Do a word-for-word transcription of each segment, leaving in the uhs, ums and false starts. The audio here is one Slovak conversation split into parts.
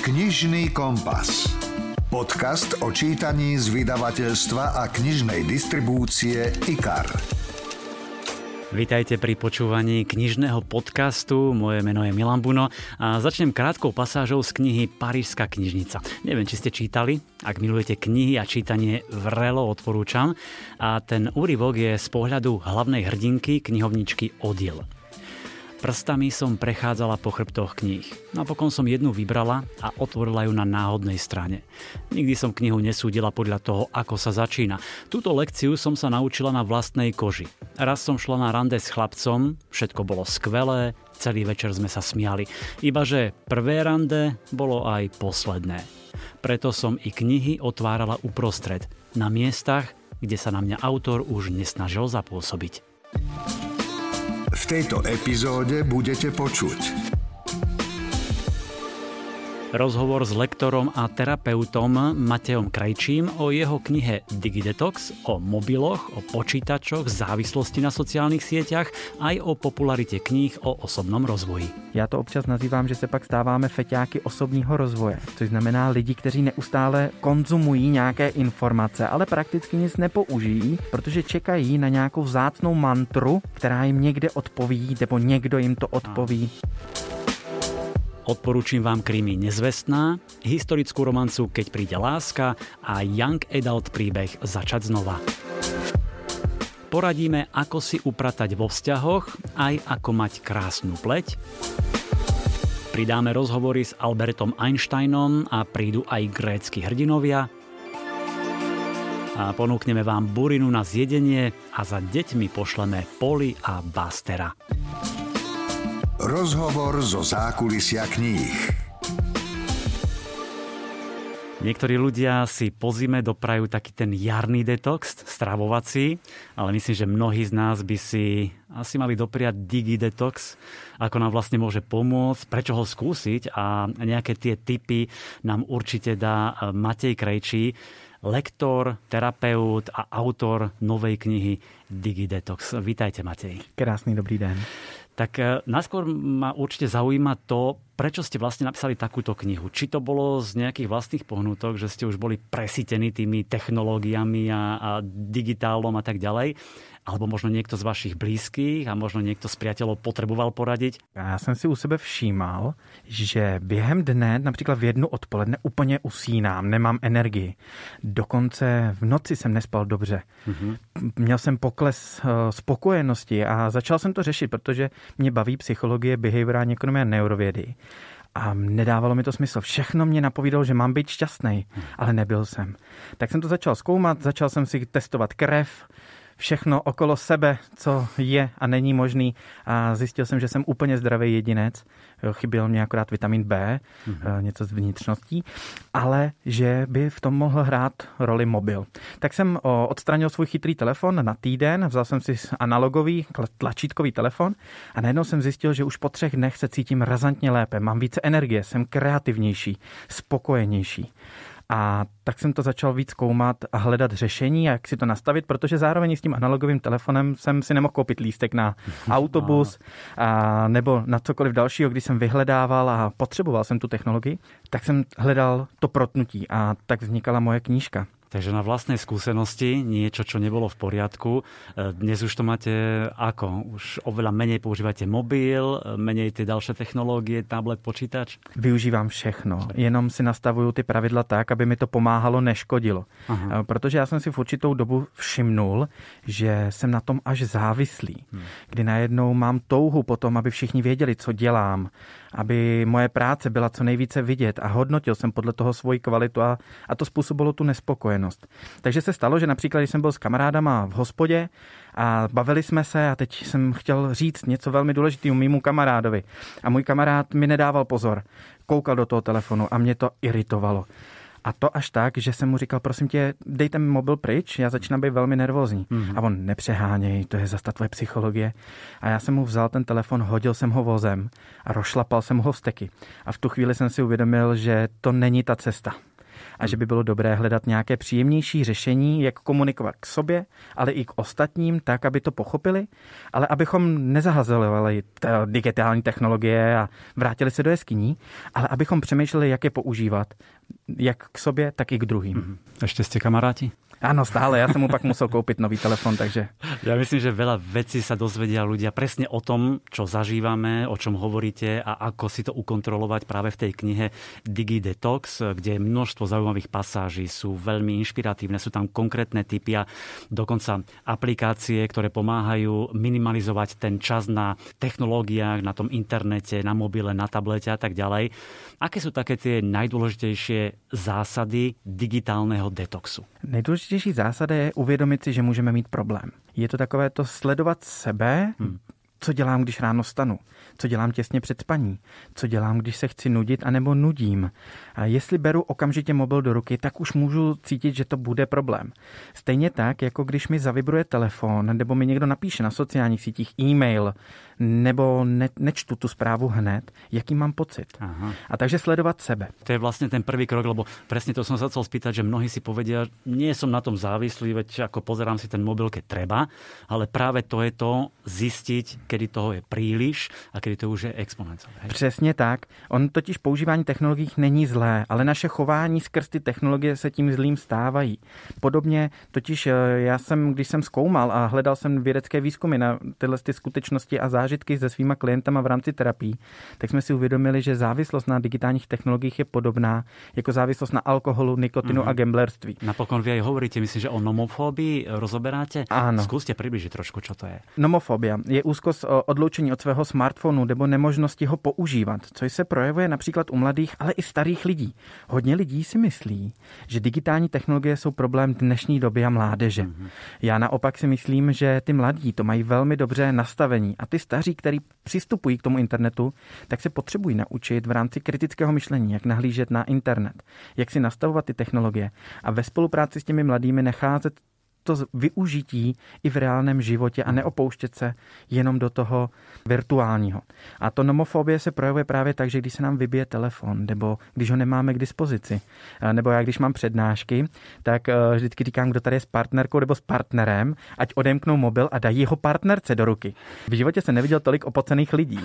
Knižný kompas. Podcast o čítaní z vydavateľstva a knižnej distribúcie IKAR. Vítajte pri počúvaní knižného podcastu. Moje meno je Milan Buno a začnem krátkou pasážou z knihy Parížska knižnica. Neviem, či ste čítali. Ak milujete knihy a čítanie, vrelo odporúčam. A ten úryvok je z pohľadu hlavnej hrdinky, knihovničky Odile. Prstami som prechádzala po chrbtoch kníh. Napokon som jednu vybrala a otvorila ju na náhodnej strane. Nikdy som knihu nesúdila podľa toho, ako sa začína. Túto lekciu som sa naučila na vlastnej koži. Raz som šla na rande s chlapcom, všetko bolo skvelé, celý večer sme sa smiali. Ibaže prvé rande bolo aj posledné. Preto som i knihy otvárala uprostred, na miestach, kde sa na mňa autor už nesnažil zapôsobiť. V tejto epizóde budete počuť rozhovor s lektorom a terapeutom Matejom Krajčím o jeho knihe Digidetox, o mobiloch, o počítačoch, závislosti na sociálnych sieťach, aj o popularite kníh o osobnom rozvoji. Já to občas nazývám, že se pak stáváme feťáky osobního rozvoje, což znamená lidi, kteří neustále konzumují nějaké informace, ale prakticky nic nepoužijí, protože čekají na nějakou vzácnou mantru, která jim někde odpoví, nebo někdo jim to odpoví. Odporúčim vám krimi Nezvestná, historickú romancu Keď príde láska a young adult príbeh Začať znova. Poradíme, ako si upratať vo vzťahoch, aj ako mať krásnu pleť. Pridáme rozhovory s Albertom Einsteinom a prídu aj grécky hrdinovia. A ponúkneme vám burinu na zjedenie a za deťmi pošleme Polly a Bastera. Rozhovor zo zákulisia kníh. Niektorí ľudia si po zime doprajú taký ten jarný detox, stravovací, ale myslím, že mnohí z nás by si asi mali dopriať digidetox, ako nám vlastne môže pomôcť, prečo ho skúsiť, a nejaké tie tipy nám určite dá Matej Krajčí, lektor, terapeut a autor novej knihy Digidetox. Vítajte, Matej. Krásny dobrý den. Tak najskôr ma určite zaujíma to, prečo ste vlastne napísali takúto knihu. Či to bolo z nejakých vlastných pohnutok, že ste už boli presítení tými technológiami a, a digitálom a tak ďalej, alebo možno niekto z vašich blízkych a možno niekto z priateľov potreboval poradiť? Já jsem si u sebe všímal, že během dne, například v jednu odpoledne, úplně usínám, nemám energii. Dokonce v noci jsem nespal dobře. Mm-hmm. Měl jsem pokles spokojenosti a začal jsem to řešit, protože mě baví psychologie, behaviorální ekonomie a neurovědy. A nedávalo mi to smysl. Všechno mě napovídalo, že mám být šťastný, ale nebyl jsem. Tak jsem to začal zkoumat, začal jsem si testovat krev, všechno okolo sebe, co je a není možný, a zjistil jsem, že jsem úplně zdravý jedinec. Chyběl mě akorát vitamin B, mm-hmm. něco z vnitřností, ale že by v tom mohl hrát roli mobil. Tak jsem odstranil svůj chytrý telefon na týden, vzal jsem si analogový tlačítkový telefon a najednou jsem zjistil, že už po třech dnech se cítím razantně lépe, mám více energie, jsem kreativnější, spokojenější. A tak jsem to začal víc zkoumat a hledat řešení, jak si to nastavit, protože zároveň s tím analogovým telefonem jsem si nemohl koupit lístek na autobus a nebo na cokoliv dalšího, když jsem vyhledával a potřeboval jsem tu technologii, tak jsem hledal to protnutí a tak vznikala moje knížka. Takže na vlastnej skúsenosti niečo, čo nebolo v poriadku. Dnes už to máte ako? Už oveľa menej používate mobil, menej tie ďalšie technológie, tablet, počítač? Využívám všechno. Jenom si nastavuju ty pravidla tak, aby mi to pomáhalo, neškodilo. Aha. Protože já jsem si v určitou dobu všimnul, že jsem na tom až závislý. Hmm. Kdy najednou mám touhu po tom, aby všichni věděli, co dělám, aby moje práce byla co nejvíce vidět a hodnotil jsem podle toho svoji kvalitu a, a to způsobilo tu nespokojenost. Takže se stalo, že například, když jsem byl s kamarádama v hospodě a bavili jsme se a teď jsem chtěl říct něco velmi důležitého mému kamarádovi a můj kamarád mi nedával pozor, koukal do toho telefonu a mě to iritovalo. A to až tak, že jsem mu říkal, prosím tě, dejte mi mobil pryč, já začínám být velmi nervózní. Mm-hmm. A on, nepřeháněj, to je zase ta tvoje psychologie. A já jsem mu vzal ten telefon, hodil jsem ho vozem a rozšlapal jsem ho vsteky. A v tu chvíli jsem si uvědomil, že to není ta cesta. a že by bylo dobré hledat nějaké příjemnější řešení, jak komunikovat k sobě, ale i k ostatním, tak, aby to pochopili, ale abychom nezahazovali digitální technologie a vrátili se do jeskyní, ale abychom přemýšleli, jak je používat, jak k sobě, tak i k druhým. Ešte ste kamaráti? Áno, stále. Ja som mu pak musel kúpiť nový telefon, takže... Ja myslím, že veľa vecí sa dozvedia ľudia presne o tom, čo zažívame, o čom hovoríte a ako si to ukontrolovať práve v tej knihe DigiDetox, kde je množstvo zaujímavých pasáží, sú veľmi inšpiratívne, sú tam konkrétne tipy a dokonca aplikácie, ktoré pomáhajú minimalizovať ten čas na technológiách, na tom internete, na mobile, na tablete a tak ďalej. Aké sú také tie najdôležitejšie zásady digitálneho detoxu? Nejdůležitější zásada je uvědomit si, že můžeme mít problém. Je to takové to sledovat sebe, hmm. co dělám, když ráno stanu, co dělám těsně před spaní, co dělám, když se chci nudit anebo nudím. A jestli beru okamžitě mobil do ruky, tak už můžu cítit, že to bude problém. Stejně tak, jako když mi zavibruje telefon, nebo mi někdo napíše na sociálních sítích e-mail, nebo ne, nečtu tu správu hned, jaký mám pocit. Aha. A takže sledovat sebe. To je vlastne ten prvý krok, lebo presne to som sa chcel spýtať, že mnohí si povedia, nie som na tom závislý, veď ako pozerám si ten mobil, keď treba, ale práve to je to zistiť, kedy toho je príliš a kedy to už je exponenciálne. Přesně tak. On totiž používání technologií není zlé, ale naše chování skrz ty technologie se tím zlým stávají. Podobně totiž já jsem, když jsem zkoumal a hledal jsem vědecké výzkumy na tyhle ty skutečnosti a zážitky se svýma klientama v rámci terapii, tak jsme si uvědomili, že závislost na digitálních technologiích je podobná jako závislost na alkoholu, nikotinu mm-hmm. a gamblerství. Napokon vy aj hovoríte, myslím, že o nomofóbii rozoberáte. Áno. Skúste približiť trošku, čo to je. Nomofobia je úzkost odloučení od svého smartphonu nebo nemožnosti ho používat, což se projevuje například u mladých, ale i starých lidí. Hodně lidí si myslí, že digitální technologie jsou problém dnešní doby a mládeže. Mm-hmm. Já naopak si myslím, že ty mladí to mají velmi dobře nastavení a ty staří, kteří přistupují k tomu internetu, tak se potřebují naučit v rámci kritického myšlení, jak nahlížet na internet, jak si nastavovat ty technologie a ve spolupráci s těmi mladými nacházet to využití i v reálném životě a neopouštět se jenom do toho virtuálního. A to nomofobie se projevuje právě tak, že když se nám vybije telefon, nebo když ho nemáme k dispozici, nebo já když mám přednášky, tak vždycky říkám, kdo tady je s partnerkou nebo s partnerem, ať odemknou mobil a dají jeho partnerce do ruky. V životě jsem neviděl tolik opocených lidí.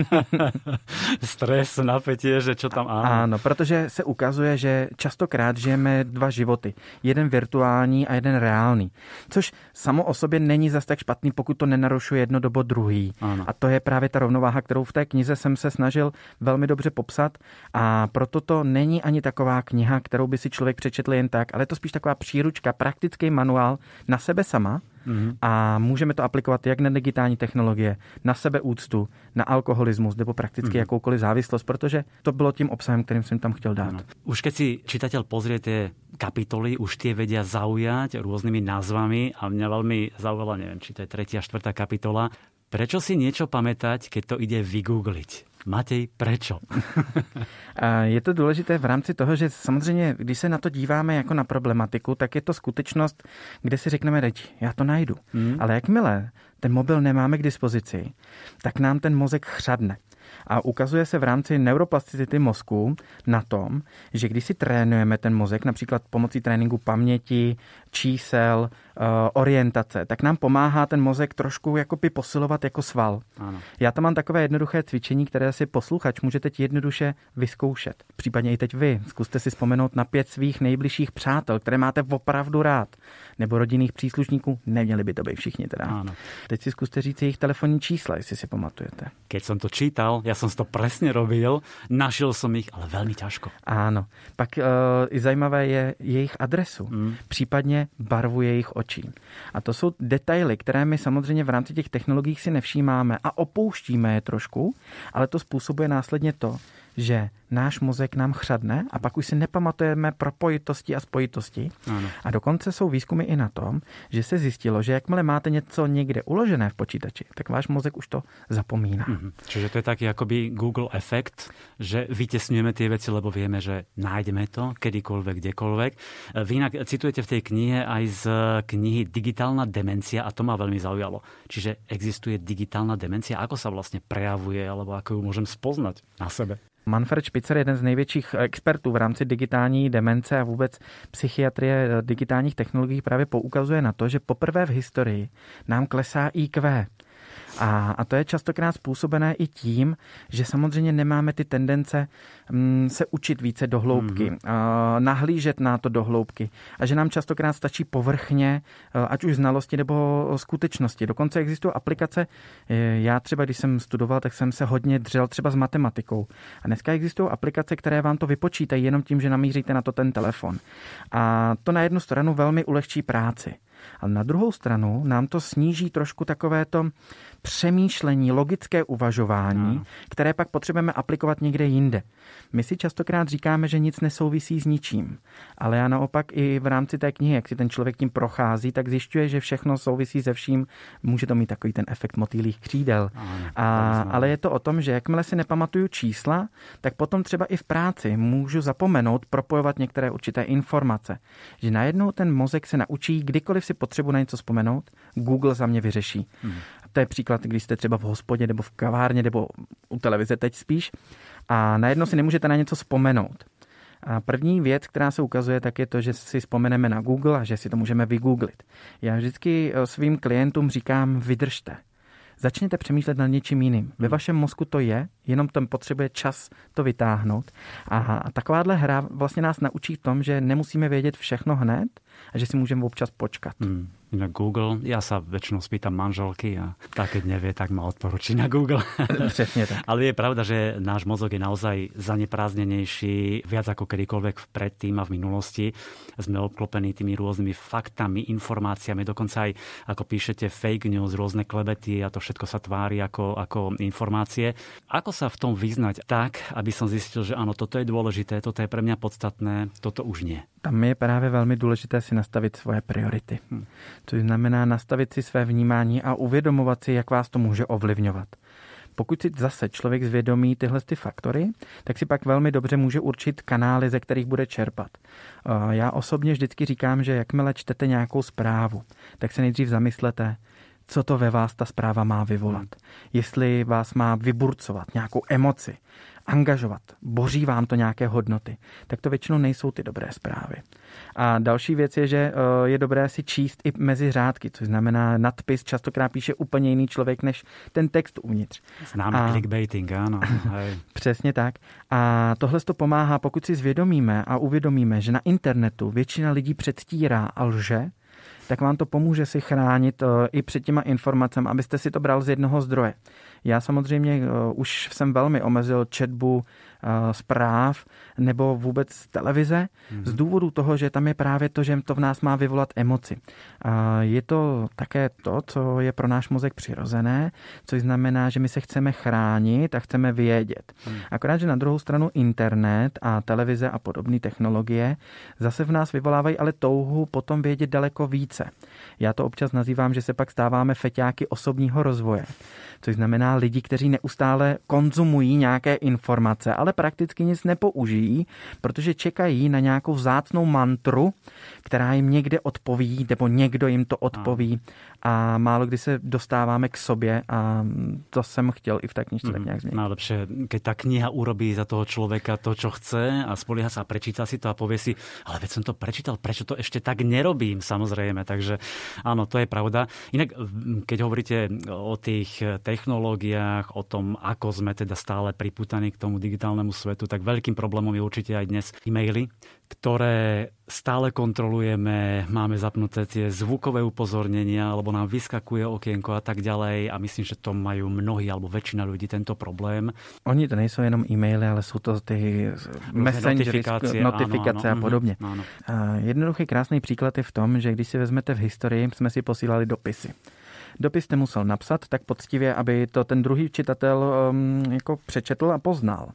Stres, napätie, že čo tam áno. Áno, protože se ukazuje, že častokrát žijeme dva životy. Jeden virtuální a jeden reálný. Což samo o sobě není zas tak špatný, pokud to nenarušuje jedno dobo druhý. Ano. A to je právě ta rovnováha, kterou v té knize jsem se snažil velmi dobře popsat a proto to není ani taková kniha, kterou by si člověk přečetl jen tak, ale je to spíš taková příručka, praktický manuál na sebe sama. Mm-hmm. A můžeme to aplikovat jak na digitální technologie, na sebeúctu, na alkoholismus nebo prakticky mm-hmm. jakoukoliv závislost, protože to bylo tím obsahem, kterým jsem tam chtěl dát. No. Už keď si čitateľ pozrie tie kapitoly, už tie vedia zaujať rôznymi názvami a mňa veľmi zaujala, neviem, či to je tretia, štvrtá kapitola. Prečo si niečo pamätať, keď to ide vygoogliť? Matej, prečo? Je to důležité v rámci toho, že samozřejmě, když se na to díváme jako na problematiku, tak je to skutečnost, kde si řekneme, teď já to najdu. Hmm. Ale jakmile ten mobil nemáme k dispozici, tak nám ten mozek chřadne. A ukazuje se v rámci neuroplasticity mozku na tom, že když si trénujeme ten mozek, například pomocí tréninku paměti, čísel, orientace, tak nám pomáhá ten mozek trošku jakoby posilovat jako sval. Ano. Já tam mám takové jednoduché cvičení, které si posluchač můžete jednoduše vyzkoušet. Případně i teď vy. Zkuste si vzpomenout na pět svých nejbližších přátel, které máte opravdu rád. Nebo rodinných příslušníků. Neměli by to být všichni teda. Ano. Teď si zkuste říct jejich telefonní čísla, jestli si pamatujete. Keď som to čítal, ja som to presne robil, našiel som ich, ale veľmi ťažko. Áno. Pak uh, i zajímavé je jejich adresu, mm. případně barvu jejich očí. A to jsou detaily, které my samozřejmě v rámci těch technologií si nevšímáme a opouštíme je trošku, ale to způsobuje následně to, že náš mozek nám chřadne a pak už si nepamatujeme propojitosti a spojitosti. Ano. A dokonce jsou výzkumy i na tom, že se zjistilo, že jakmile máte něco někde uložené v počítači, tak váš mozek už to zapomíná. Mhm. Čiže to je taký akoby Google efekt, že vytesňujeme tie veci, lebo vieme, že nájdeme to kedykoľvek, kdekoľvek. Vy inak citujete v tej knihe aj z knihy Digitálna demencia a to ma veľmi zaujalo. Čiže existuje digitálna demencia? Ako sa vlastne prejavuje, alebo ako ju môžem spoznať na sebe? Manfred Spitzer, jeden z největších expertů v rámci digitální demence a vůbec psychiatrie digitálních technologií, právě poukazuje na to, že poprvé v historii nám klesá í kvé. A, a to je častokrát způsobené i tím, že samozřejmě nemáme ty tendence m, se učit více do hloubky, mm-hmm. a, nahlížet na to do hloubky a že nám častokrát stačí povrchně, ať už znalosti nebo skutečnosti. Dokonce existují aplikace, já třeba, když jsem studoval, tak jsem se hodně dřel třeba s matematikou. A dneska existují aplikace, které vám to vypočítají jenom tím, že namíříte na to ten telefon. A to na jednu stranu velmi ulehčí práci. Ale na druhou stranu nám to sníží trošku takovéto přemýšlení, logické uvažování, no. které pak potřebujeme aplikovat někde jinde. My si častokrát říkáme, že nic nesouvisí s ničím, ale já naopak i v rámci té knihy, jak si ten člověk tím prochází, tak zjišťuje, že všechno souvisí se vším. Může to mít takový ten efekt motýlých křídel. No, A, ale je to o tom, že jakmile si nepamatuju čísla, tak potom třeba i v práci můžu zapomenout propojovat některé určité informace. Že najednou ten mozek se naučí, kdykoliv si potřebuji na něco vzpomenout, Google za mě vyřeší. Hmm. To je příklad, když jste třeba v hospodě nebo v kavárně nebo u televize teď spíš a najednou si nemůžete na něco vzpomenout. A první věc, která se ukazuje, tak je to, že si vzpomeneme na Google a že si to můžeme vygooglit. Já vždycky svým klientům říkám, vydržte. Začněte přemýšlet nad něčím jiným. Ve vašem mozku to je, jenom tam potřebuje čas to vytáhnout. A takováhle hra vlastně nás naučí v tom, že nemusíme vědět všechno hned a že si můžeme občas počkat. Hmm. Na Google, ja sa väčšinou spýtam manželky a tak, keď nevie, tak ma odporúči na Google. Presne tak. Ale je pravda, že náš mozog je naozaj zaneprázdnenejší viac ako kedykoľvek predtým a v minulosti. Sme obklopení tými rôznymi faktami, informáciami, dokonca aj, ako píšete, fake news, rôzne klebety a to všetko sa tvári ako, ako informácie. Ako sa v tom vyznať tak, aby som zistil, že áno, toto je dôležité, toto je pre mňa podstatné, toto už nie? Tam je právě velmi důležité si nastavit svoje priority. Hmm. Což znamená nastavit si své vnímání a uvědomovat si, jak vás to může ovlivňovat. Pokud si zase člověk zvědomí tyhle ty faktory, tak si pak velmi dobře může určit kanály, ze kterých bude čerpat. Já osobně vždycky říkám, že jakmile čtete nějakou zprávu, tak se nejdřív zamyslete, co to ve vás ta zpráva má vyvolat. Jestli vás má vyburcovat nějakou emoci, angažovat, boří vám to nějaké hodnoty, tak to většinou nejsou ty dobré zprávy. A další věc je, že je dobré si číst i mezi řádky, což znamená nadpis častokrát píše úplně jiný člověk než ten text uvnitř. Známe a... clickbaiting, ano. Přesně tak. A tohle to pomáhá, pokud si zvědomíme a uvědomíme, že na internetu většina lidí předstírá a lže, tak vám to pomůže si chránit i před těma informacemi, abyste si to bral z jednoho zdroje. Já samozřejmě už jsem velmi omezil četbu zpráv nebo vůbec televize mm-hmm. z důvodu toho, že tam je právě to, že to v nás má vyvolat emoci. Je to také to, co je pro náš mozek přirozené, což znamená, že my se chceme chránit a chceme vědět. Mm. Akorát, že na druhou stranu internet a televize a podobné technologie zase v nás vyvolávají ale touhu potom vědět daleko více. Já to občas nazývám, že se pak stáváme feťáky osobního rozvoje, což znamená lidi, kteří neustále konzumují nějaké informace, ale prakticky nic nepoužijí, protože čekají na nějakou vzácnou mantru, která jim někde odpoví, nebo někdo jim to odpoví a málo kdy se dostáváme k sobě a to jsem chtěl i v té knižce mm, tak nějak změnit. Najlepšie, keď tá kniha urobí za toho človeka to, čo chce a spolieha sa a prečíta si to a povie si, ale veď som to prečítal, prečo to ešte tak nerobím, samozrejme. Takže áno, to je pravda. Inak, keď hovoríte o tých technológiách, o tom, ako sme teda stále pripútaní k tomu digitálnemu svetu, tak veľkým problémom je určite aj dnes e-maily, ktoré stále kontrolujeme, máme zapnuté tie zvukové upozornenia, alebo nám vyskakuje okienko a tak ďalej a myslím, že to majú mnohí alebo väčšina ľudí tento problém. Oni to nejsou jenom e-maily, ale jsou to ty messengery, notifikace, notifikace áno, áno, a podobně. Áno. Jednoduchý krásný příklad je v tom, že když si vezmete v historii, jsme si posílali dopisy. Dopis jste musel napsat tak poctivě, aby to ten druhý čitatel um, jako přečetl a poznal.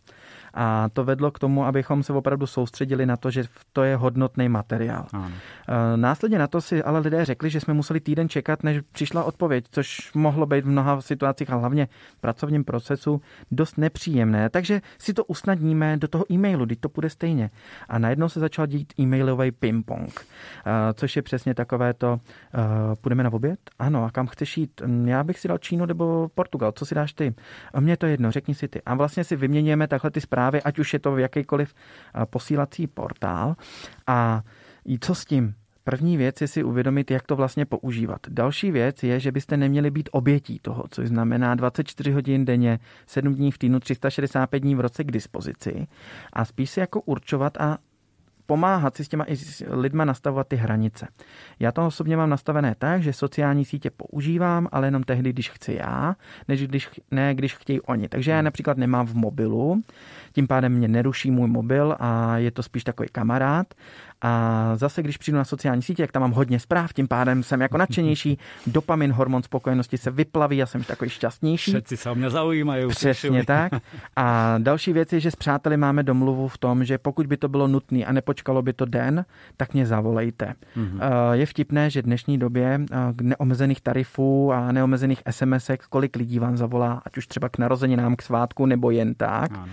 A to vedlo k tomu, abychom se opravdu soustředili na to, že to je hodnotný materiál. Ano. Následně na to si ale lidé řekli, že jsme museli týden čekat, než přišla odpověď, což mohlo být v mnoha situacích a hlavně v pracovním procesu dost nepříjemné. Takže si to usnadníme do toho e-mailu, když to půjde stejně. A najednou se začal dít e-mailový ping-pong, což je přesně takové to, půjdeme na oběd? Ano, a kam chceš jít? Já bych si dal Čínu nebo Portugal, co si dáš ty? A mně to jedno, řekni si ty. A vlastně si vyměňujeme takhle ty zprávy zprávy, ať už je to v jakýkoliv posílací portál. A co s tím? První věc je si uvědomit, jak to vlastně používat. Další věc je, že byste neměli být obětí toho, což znamená dvacet čtyři hodin denně, sedm dní v týdnu, tři sta šedesát pět dní v roce k dispozici a spíš si jako určovat a pomáhat si s těma i s lidma nastavovat ty hranice. Já to osobně mám nastavené tak, že sociální sítě používám, ale jenom tehdy, když chci já, než když, ne když chtějí oni. Takže já například nemám v mobilu, tím pádem mě neruší můj mobil a je to spíš takový kamarád. A zase, když přijdu na sociální sítě, jak tam mám hodně zpráv, tím pádem jsem jako nadšenější, dopamin, hormon spokojenosti se vyplaví a jsem takový šťastnější. Všetci se o mě zaujímají. Přesně tak. A další věc je, že s přáteli máme domluvu v tom, že pokud by to bylo nutné a nepočkalo by to den, tak mě zavolejte. Mm-hmm. Je vtipné, že v dnešní době neomezených tarifů a neomezených SMSek, kolik lidí vám zavolá, ať už třeba k narozeninám, k svátku nebo jen tak. Ano.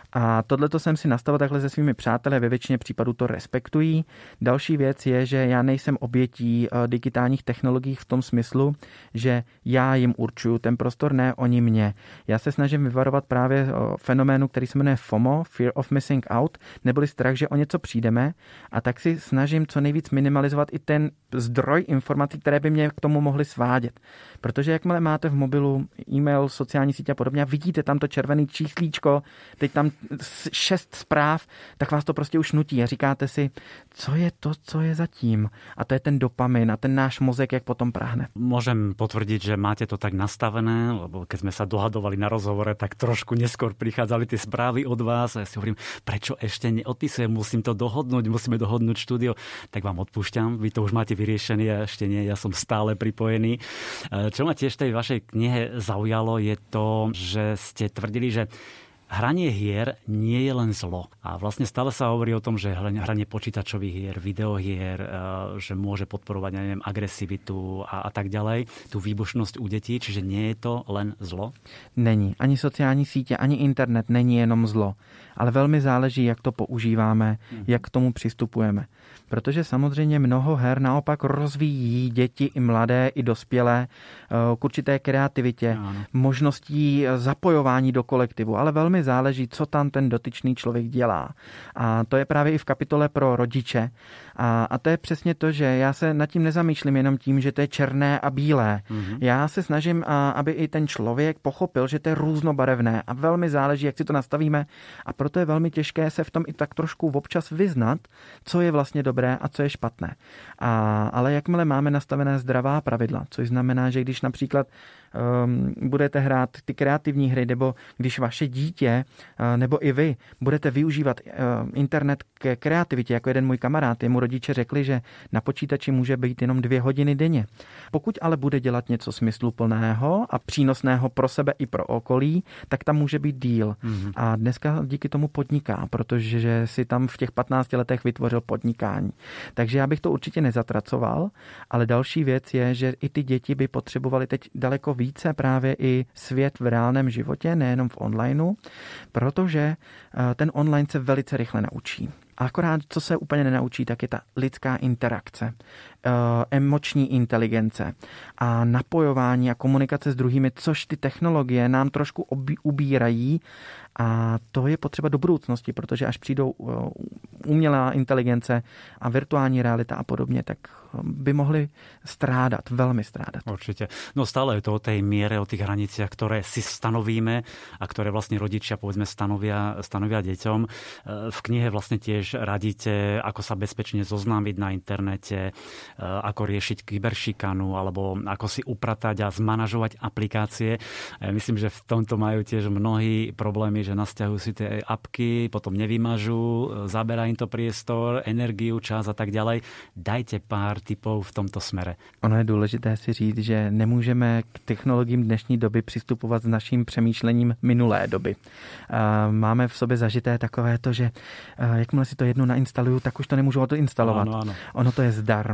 A tohleto jsem si nastavil takhle se svými přáteli a ve většině případů to respektují. Další věc je, že já nejsem obětí digitálních technologií v tom smyslu, že já jim určuju ten prostor, ne oni mě. Já se snažím vyvarovat právě fenoménu, který se jmenuje FOMO, Fear of Missing Out, neboli strach, že o něco přijdeme, a tak si snažím co nejvíc minimalizovat i ten zdroj informací, které by mě k tomu mohly svádět. Protože jakmile máte v mobilu e-mail, sociální sítě a podobně a vidíte tam to červené číslíčko, teď tam šest zpráv, tak vás to prostě už nutí a říkáte si, co je to, co je zatím. A to je ten dopamin a ten náš mozek, jak potom práhne. Môžem potvrdiť, že máte to tak nastavené, lebo keď sme sa dohadovali na rozhovore, tak trošku neskôr prichádzali tie správy od vás a ja si hovorím, prečo ešte neodpisujem, musím to dohodnúť, musíme dohodnúť štúdio. Tak vám odpúšťam, vy to už máte vyriešené, ja ešte nie, ja som stále pripojený. Čo ma tiež v tej vašej knihe zaujalo, je to, že ste tvrdili, že hranie hier nie je len zlo. A vlastne stále sa hovorí o tom, že hranie počítačových hier, videohier, že môže podporovať, ja neviem, agresivitu a, a tak ďalej, tú výbušnosť u detí, čiže nie je to len zlo? Není. Ani sociální sítě, ani internet není jenom zlo. Ale velmi záleží, jak to používáme, hmm. jak k tomu přistupujeme. Protože samozřejmě mnoho her naopak rozvíjí děti i mladé, i dospělé k určité kreativitě, ano. možností zapojování do kolektivu, ale velmi záleží, co tam ten dotyčný člověk dělá. A to je právě i v kapitole pro rodiče. A, a to je přesně to, že já se nad tím nezamýšlím jenom tím, že to je černé a bílé. Mm-hmm. Já se snažím, aby i ten člověk pochopil, že to je různobarevné a velmi záleží, jak si to nastavíme. A proto je velmi těžké se v tom i tak trošku občas vyznat, co je vlastně dobré a co je špatné. A, ale jakmile máme nastavené zdravá pravidla, což znamená, že když například um, budete hrát ty kreativní hry, nebo když vaše dítě, uh, nebo i vy budete využívat uh, internet ke kreativitě, jako jeden můj kamarád, jemu rodiče řekli, že na počítači může být jenom dvě hodiny denně. Pokud ale bude dělat něco smysluplného a přínosného pro sebe i pro okolí, tak tam může být díl. Mm-hmm. A dneska díky tomu podniká, protože si tam v těch patnácti letech vytvořil podnikání. Takže já bych to určitě nezatracoval, ale další věc je, že i ty děti by potřebovaly teď daleko více právě i svět v reálném životě, nejenom v onlineu, protože ten online se velice rychle naučí. A akorát, co se úplně nenaučí, tak je ta lidská interakce, emoční inteligence a napojování a komunikace s druhými, což ty technologie nám trošku ubírají. A to je potřeba do budoucnosti, protože až přijdou umělá inteligence a virtuální realita a podobně, tak by mohli strádat, velmi strádat. Určite. No stále je to o tej miere, o tých hraniciach, ktoré si stanovíme a ktoré vlastne rodičia, povedzme, stanovia, stanovia deťom. V knihe vlastne tiež radíte, ako sa bezpečne zoznámiť na internete, ako riešiť kyberšikanu, alebo ako si upratať a zmanažovať aplikácie. Ja myslím, že v tomto majú tiež mnohí problémy, že nasťahujú si tie apky, potom nevymažú, zaberá im to priestor, energiu, čas a tak ďalej. Dajte pár tipov v tomto smere. Ono je důležité si říct, že nemůžeme k technologiím dnešní doby přistupovat s naším přemýšlením minulé doby. Máme v sobě zažité takové to, že jakmile si to jednou nainstaluju, tak už to nemůžu to instalovat. Ano, ano. Ono to je zdarma.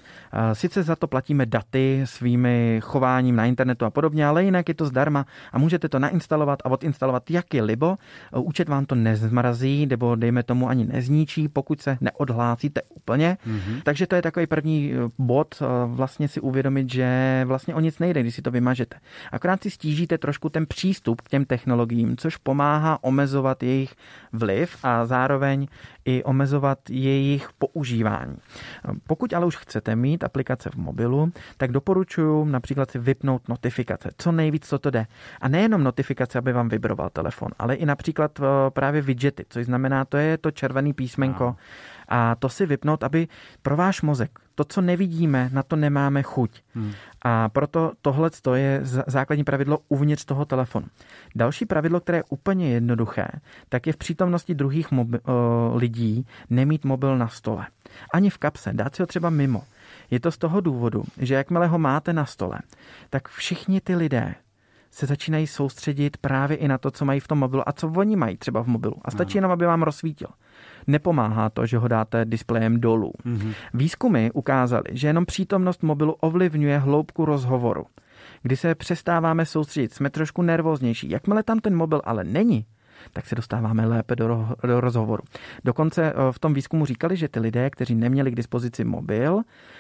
Sice za to platíme daty svými chováním na internetu a podobně, ale jinak je to zdarma a můžete to nainstalovat a odinstalovat jak je libo. Účet vám to nezmrazí, nebo dejme tomu ani nezničí, pokud se neodhlásíte úplně. Mm-hmm. Takže to je takový první bod, vlastně si uvědomit, že vlastně o nic nejde, když si to vymažete. Akorát si stížíte trošku ten přístup k těm technologiím, což pomáhá omezovat jejich vliv a zároveň i omezovat jejich používání. Pokud ale už chcete mít aplikace v mobilu, tak doporučuji například si vypnout notifikace. Co nejvíc, co to jde. A nejenom notifikace, aby vám vibroval telefon, ale i například právě widgety, což znamená, to je to červený písmenko. No. A to si vypnout, aby pro váš mozek, to, co nevidíme, na to nemáme chuť. Hmm. A proto tohle je základní pravidlo uvnitř toho telefonu. Další pravidlo, které je úplně jednoduché, tak je v přítomnosti druhých mobi- o, lidí nemít mobil na stole. Ani v kapse, dát si ho třeba mimo. Je to z toho důvodu, že jakmile ho máte na stole, tak všichni ty lidé se začínají soustředit právě i na to, co mají v tom mobilu a co oni mají třeba v mobilu. A stačí jenom, aby vám rozsvítil. Nepomáhá to, že ho dáte displejem dolů. Mm-hmm. Výzkumy ukázaly, že jenom přítomnost mobilu ovlivňuje hloubku rozhovoru. Kdy se přestáváme soustředit, jsme trošku nervóznější. Jakmile tam ten mobil ale není, tak se dostáváme lépe do, do rozhovoru. Dokonce v tom výzkumu říkali, že ty lidé, kteří neměli k dispozici mobil,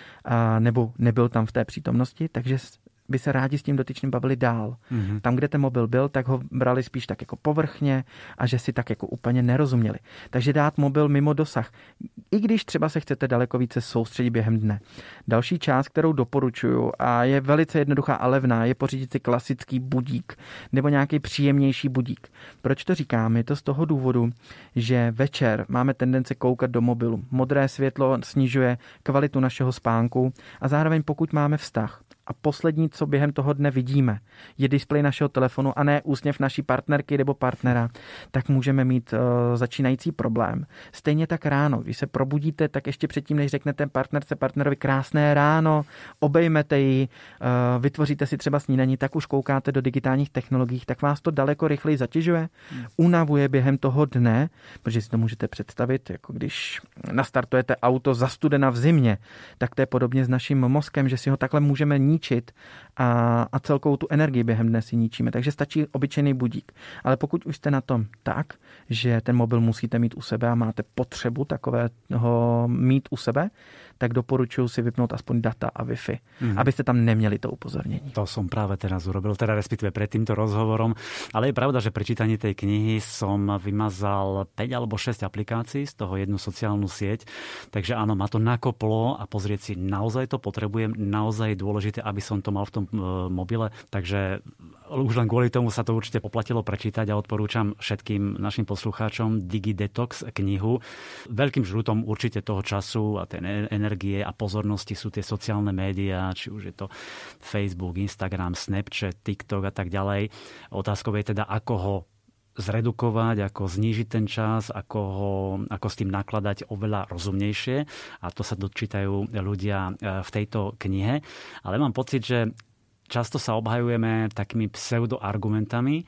a nebo nebyl tam v té přítomnosti, takže by se rádi s tím dotyčným bavili dál. Mm-hmm. Tam, kde ten mobil byl, tak ho brali spíš tak jako povrchně a že si tak jako úplně nerozuměli. Takže dát mobil mimo dosah, i když třeba se chcete daleko více soustředit během dne. Další část, kterou doporučuju a je velice jednoduchá a levná, je pořídit si klasický budík nebo nějaký příjemnější budík. Proč to říkám? Je to z toho důvodu, že večer máme tendence koukat do mobilu. Modré světlo snižuje kvalitu našeho spánku a zároveň pokud máme vztah, a poslední, co během toho dne vidíme, je displej našeho telefonu a ne úsměv naší partnerky nebo partnera, tak můžeme mít uh, začínající problém. Stejně tak ráno, když se probudíte, tak ještě předtím, než řeknete partnerce, partnerovi krásné ráno, obejmete ji, uh, vytvoříte si třeba snídaní, tak už koukáte do digitálních technologií, tak vás to daleko rychleji zatěžuje, unavuje během toho dne, protože si to můžete představit, jako když nastartujete auto za studena v zimě, tak to je podobně s naším mozkem, že si ho takhle můžeme ničit a, a celkovou tu energii během dne si ničíme. Takže stačí obyčejný budík. Ale pokud už jste na tom tak, že ten mobil musíte mít u sebe a máte potřebu takového mít u sebe, tak doporučuji si vypnout aspoň data a Wi-Fi, mm-hmm. abyste tam neměli to upozornění. To som práve teraz urobil, teda respektíve pred týmto rozhovorom. Ale je pravda, že pri čítaní tej knihy som vymazal päť alebo šesť aplikácií, z toho jednu sociálnu sieť. Takže áno, ma to nakoplo a pozrieť si, naozaj to potrebujem, naozaj je dôležité, aby som to mal v tom mobile. Takže už len kvôli tomu sa to určite poplatilo prečítať a odporúčam všetkým našim poslucháčom DigiDetox knihu. Veľkým žrutom určite toho času a tej energie a pozornosti sú tie sociálne médiá, či už je to Facebook, Instagram, Snapchat, TikTok a tak ďalej. Otázkou je teda, ako ho zredukovať, ako znížiť ten čas, ako, ho, ako s tým nakladať oveľa rozumnejšie. A to sa dočítajú ľudia v tejto knihe. Ale mám pocit, že často sa obhajujeme takými pseudoargumentami,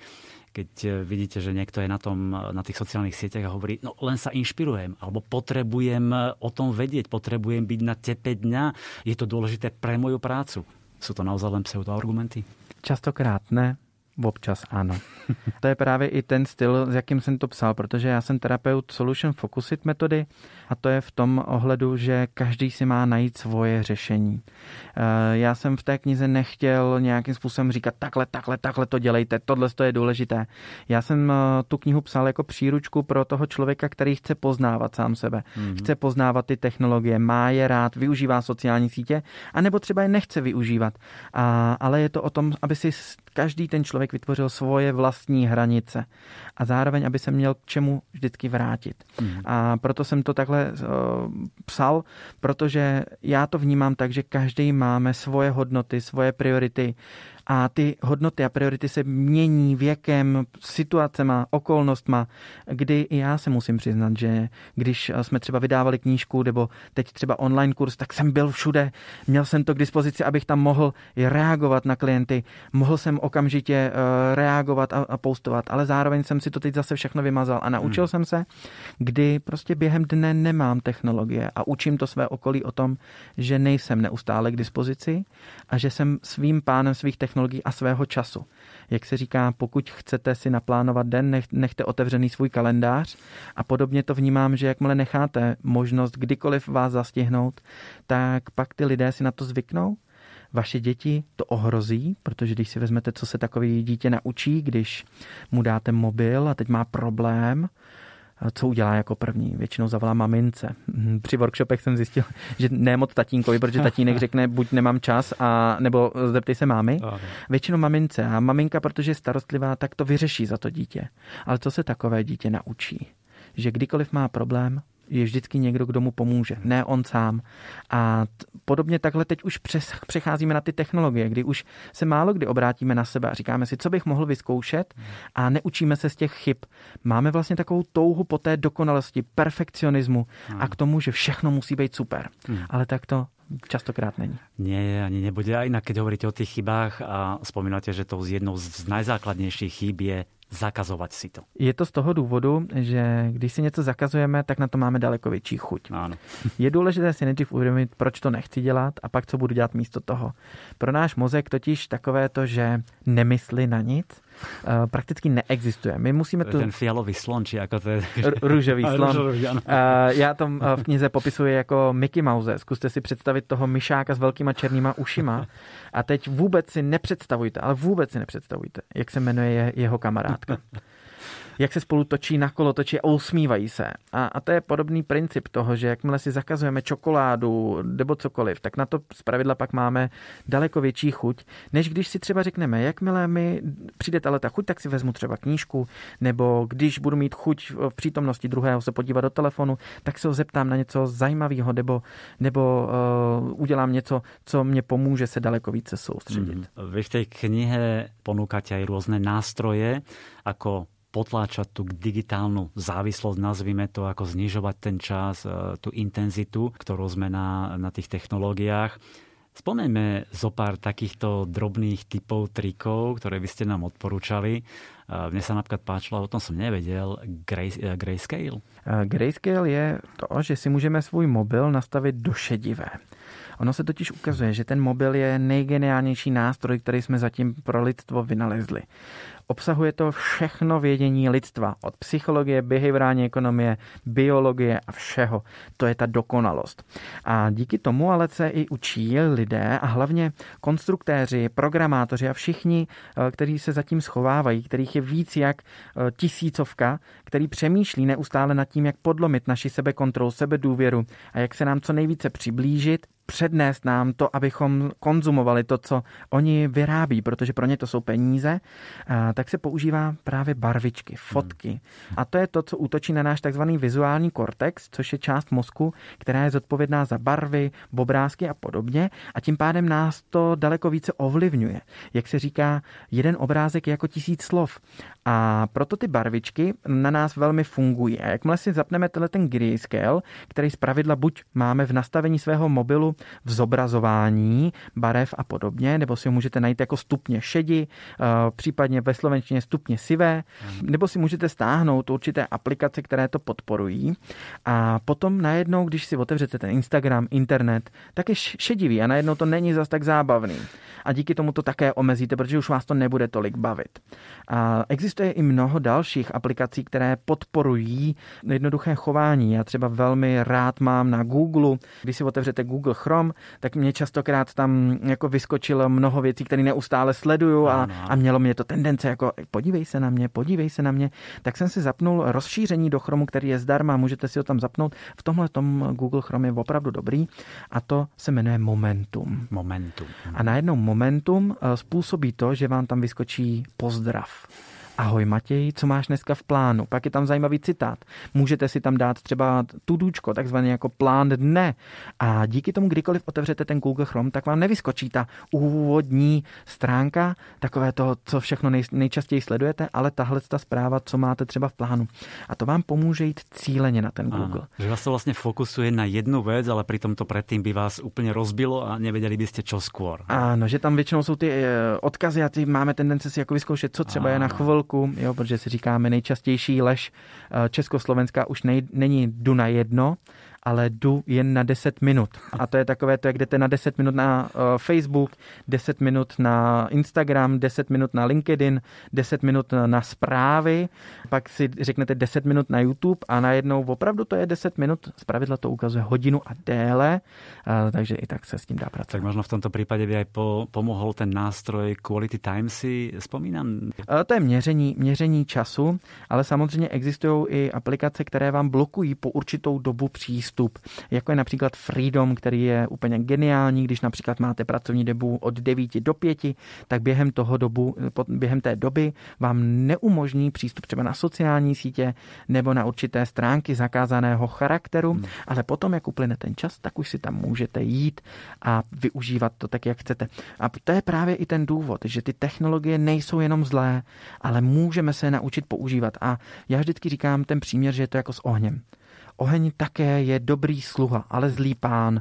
keď vidíte, že niekto je na, tom, na tých sociálnych sieťach a hovorí, no len sa inšpirujem, alebo potrebujem o tom vedieť, potrebujem byť na tepe dňa, je to dôležité pre moju prácu. Sú to naozaj len pseudoargumenty? Častokrát ne. Občas ano. To je právě i ten styl, s jakým jsem to psal, protože já jsem terapeut Solution Focused metody a to je v tom ohledu, že každý si má najít svoje řešení. Já jsem v té knize nechtěl nějakým způsobem říkat takhle, takhle, takhle to dělejte, tohle to je důležité. Já jsem tu knihu psal jako příručku pro toho člověka, který chce poznávat sám sebe. Mm-hmm. Chce poznávat ty technologie, má je rád, využívá sociální sítě, anebo třeba je nechce využívat. A, ale je to o tom, aby si každý ten člověk vytvořil svoje vlastní hranice a zároveň, aby se měl k čemu vždycky vrátit. Mm. A proto jsem to takhle uh, psal, protože já to vnímám tak, že každý máme svoje hodnoty, svoje priority A ty hodnoty a priority se mění věkem, situacema, okolnostma, kdy i já se musím přiznat, že když jsme třeba vydávali knížku nebo teď třeba online kurz, tak jsem byl všude, měl jsem to k dispozici, abych tam mohl reagovat na klienty, mohl jsem okamžitě reagovat a, a postovat, ale zároveň jsem si to teď zase všechno vymazal a naučil hmm. jsem se, kdy prostě během dne nemám technologie a učím to své okolí o tom, že nejsem neustále k dispozici a že jsem svým pánem svých technologií a svého času. Jak se říká, pokud chcete si naplánovat den, nech, nechte otevřený svůj kalendář a podobně to vnímám, že jakmile necháte možnost kdykoliv vás zastihnout, tak pak ty lidé si na to zvyknou. Vaše děti to ohrozí, protože když si vezmete, co se takový dítě naučí, když mu dáte mobil a teď má problém, co udělá jako první? Většinou zavolá mamince. Při workshopech jsem zjistil, že ne moc tatínkovi, protože tatínek řekne, buď nemám čas, a, nebo zeptej se mámy. Většinou mamince. A maminka, protože je starostlivá, tak to vyřeší za to dítě. Ale co se takové dítě naučí? Že kdykoliv má problém, je vždycky někdo, kdo mu pomůže, ne on sám. A t- podobně takhle teď už přes, přecházíme na ty technologie, kdy už se málo kdy obrátíme na sebe a říkáme si, co bych mohl vyzkoušet a neučíme se z těch chyb. Máme vlastně takovou touhu po té dokonalosti, perfekcionismu a k tomu, že všechno musí být super. Hmm. Ale tak to častokrát není. Nie, ani nebude. A inak, keď hovoríte o tých chybách a spomínate, že to jednou z najzákladnějších chyb je zakazovat si to. Je to z toho důvodu, že když si něco zakazujeme, tak na to máme daleko větší chuť. Ano. Je důležité si nejdřív uvědomit, proč to nechci dělat a pak co budu dělat místo toho. Pro náš mozek totiž takové to, že nemyslí na nic, prakticky neexistuje. My musíme to... tu... Ten fialový slon, či jako to je... Růžový slon. Já to v knize popisuji jako Mickey Mouse. Zkuste si představit toho myšáka s velkýma černýma ušima a teď vůbec si nepředstavujte, ale vůbec si nepředstavujte, jak se jmenuje jeho kamarádka. Jak se spolu točí na kolotoči a usmívají se. A, a to je podobný princip toho, že jakmile si zakazujeme čokoládu nebo cokoliv, tak na to zpravidla pak máme daleko větší chuť, než když si třeba řekneme, jakmile mi přijde tahle ta chuť, tak si vezmu třeba knížku, nebo když budu mít chuť v přítomnosti druhého se podívat do telefonu, tak se ho zeptám na něco zajímavého, nebo, nebo uh, udělám něco, co mě pomůže se daleko více soustředit. Mm. Vy v tej knihe ponúkate aj rôzne nástroje, ako potláčať tú digitálnu závislosť, nazvime to, ako znižovať ten čas, tú intenzitu, ktorú sme na, na tých technológiách. Spomeňme zo pár takýchto drobných typov, trikov, ktoré by ste nám odporúčali. Mne sa napríklad páčilo, o tom som nevedel, gray, grayscale. Grayscale je to, že si můžeme svůj mobil nastavit do šedivé. Ono se totiž ukazuje, že ten mobil je nejgeniálnější nástroj, který jsme zatím pro lidstvo vynalezli. Obsahuje to všechno vědění lidstva, od psychologie, behaviorální ekonomie, biologie a všeho. To je ta dokonalost. A díky tomu ale se i učí lidé a hlavně konstruktéři, programátoři a všichni, kteří se zatím schovávají, kterých je víc jak tisícovka, který přemýšlí neustále nad tím, jak podlomit naši sebekontrolu, sebedůvěru a jak se nám co nejvíce přiblížit, přednést nám to, abychom konzumovali to, co oni vyrábí, protože pro ně to jsou peníze, tak se používá právě barvičky, fotky. A to je to, co útočí na náš takzvaný vizuální kortex, což je část mozku, která je zodpovědná za barvy, obrázky a podobně. A tím pádem nás to daleko více ovlivňuje. Jak se říká, jeden obrázek je jako tisíc slov. A proto ty barvičky na nás velmi fungují. A jakmile si zapneme tenhle ten grayscale, který zpravidla buď máme v nastavení svého mobilu v zobrazování barev a podobně, nebo si ho můžete najít jako stupně šedi, případně ve slovenštině stupně sivé, nebo si můžete stáhnout určité aplikace, které to podporují. A potom najednou, když si otevřete ten Instagram, internet, tak je šedivý a najednou to není zas tak zábavný. A díky tomu to také omezíte, protože už vás to nebude tolik bavit. A existuje i mnoho dalších aplikací, které podporují jednoduché chování. Já třeba velmi rád mám na Google, když si otevřete Google Chrome, tak mě častokrát tam jako vyskočilo mnoho věcí, které neustále sleduju a, a mělo mě to tendence jako podívej se na mě, podívej se na mě. Tak jsem si zapnul rozšíření do Chromu, který je zdarma, můžete si ho tam zapnout. V tomhle tom Google Chrome je opravdu dobrý a to se jmenuje Momentum. Momentum. A najednou Momentum způsobí to, že vám tam vyskočí pozdrav. Ahoj Matěj, co máš dneska v plánu? Pak je tam zajímavý citát. Můžete si tam dát třeba tudůčko, takzvaný jako plán dne. A díky tomu, kdykoliv otevřete ten Google Chrome, tak vám nevyskočí ta úvodní stránka, takové to, co všechno nej, nejčastěji sledujete, ale tahle ta zpráva, co máte třeba v plánu. A to vám pomůže jít cíleně na ten Google. Áno, že vás to vlastne fokusuje na jednu vec, ale pritom to predtým by vás úplne rozbilo a nevedeli by ste čo skôr. Áno, že tam většinou jsou ty odkazy a ty máme tendence si jako vyzkoušet, co třeba Áno. je na chvilku, jo, protože si říkáme nejčastější lež Československá už nej, není jdu na jedno, ale jdu jen na deset minut. A to je takové, to jak jdete na deset minut na uh, Facebook, deset minut na Instagram, deset minut na LinkedIn, deset minut na zprávy, pak si řeknete deset minut na YouTube a najednou opravdu to je deset minut, zpravidla to ukazuje hodinu a déle, uh, takže i tak se s tím dá pracovat. Tak možno v tomto prípade by aj po, pomohol ten nástroj Quality Time, si spomínam? Uh, to je měření, měření času, ale samozřejmě existují i aplikace, které vám blokují po určitou dobu přístup. Jako je například Freedom, který je úplně geniální, když například máte pracovní dobu od devíti do pěti, tak během toho dobu, během té doby vám neumožní přístup třeba na sociální sítě nebo na určité stránky zakázaného charakteru, hmm. ale potom, jak uplyne ten čas, tak už si tam můžete jít a využívat to tak, jak chcete. A to je právě i ten důvod, že ty technologie nejsou jenom zlé, ale můžeme se naučit používat. A já vždycky říkám ten příměr, že je to jako s ohněm. Oheň také je dobrý sluha, ale zlý pán.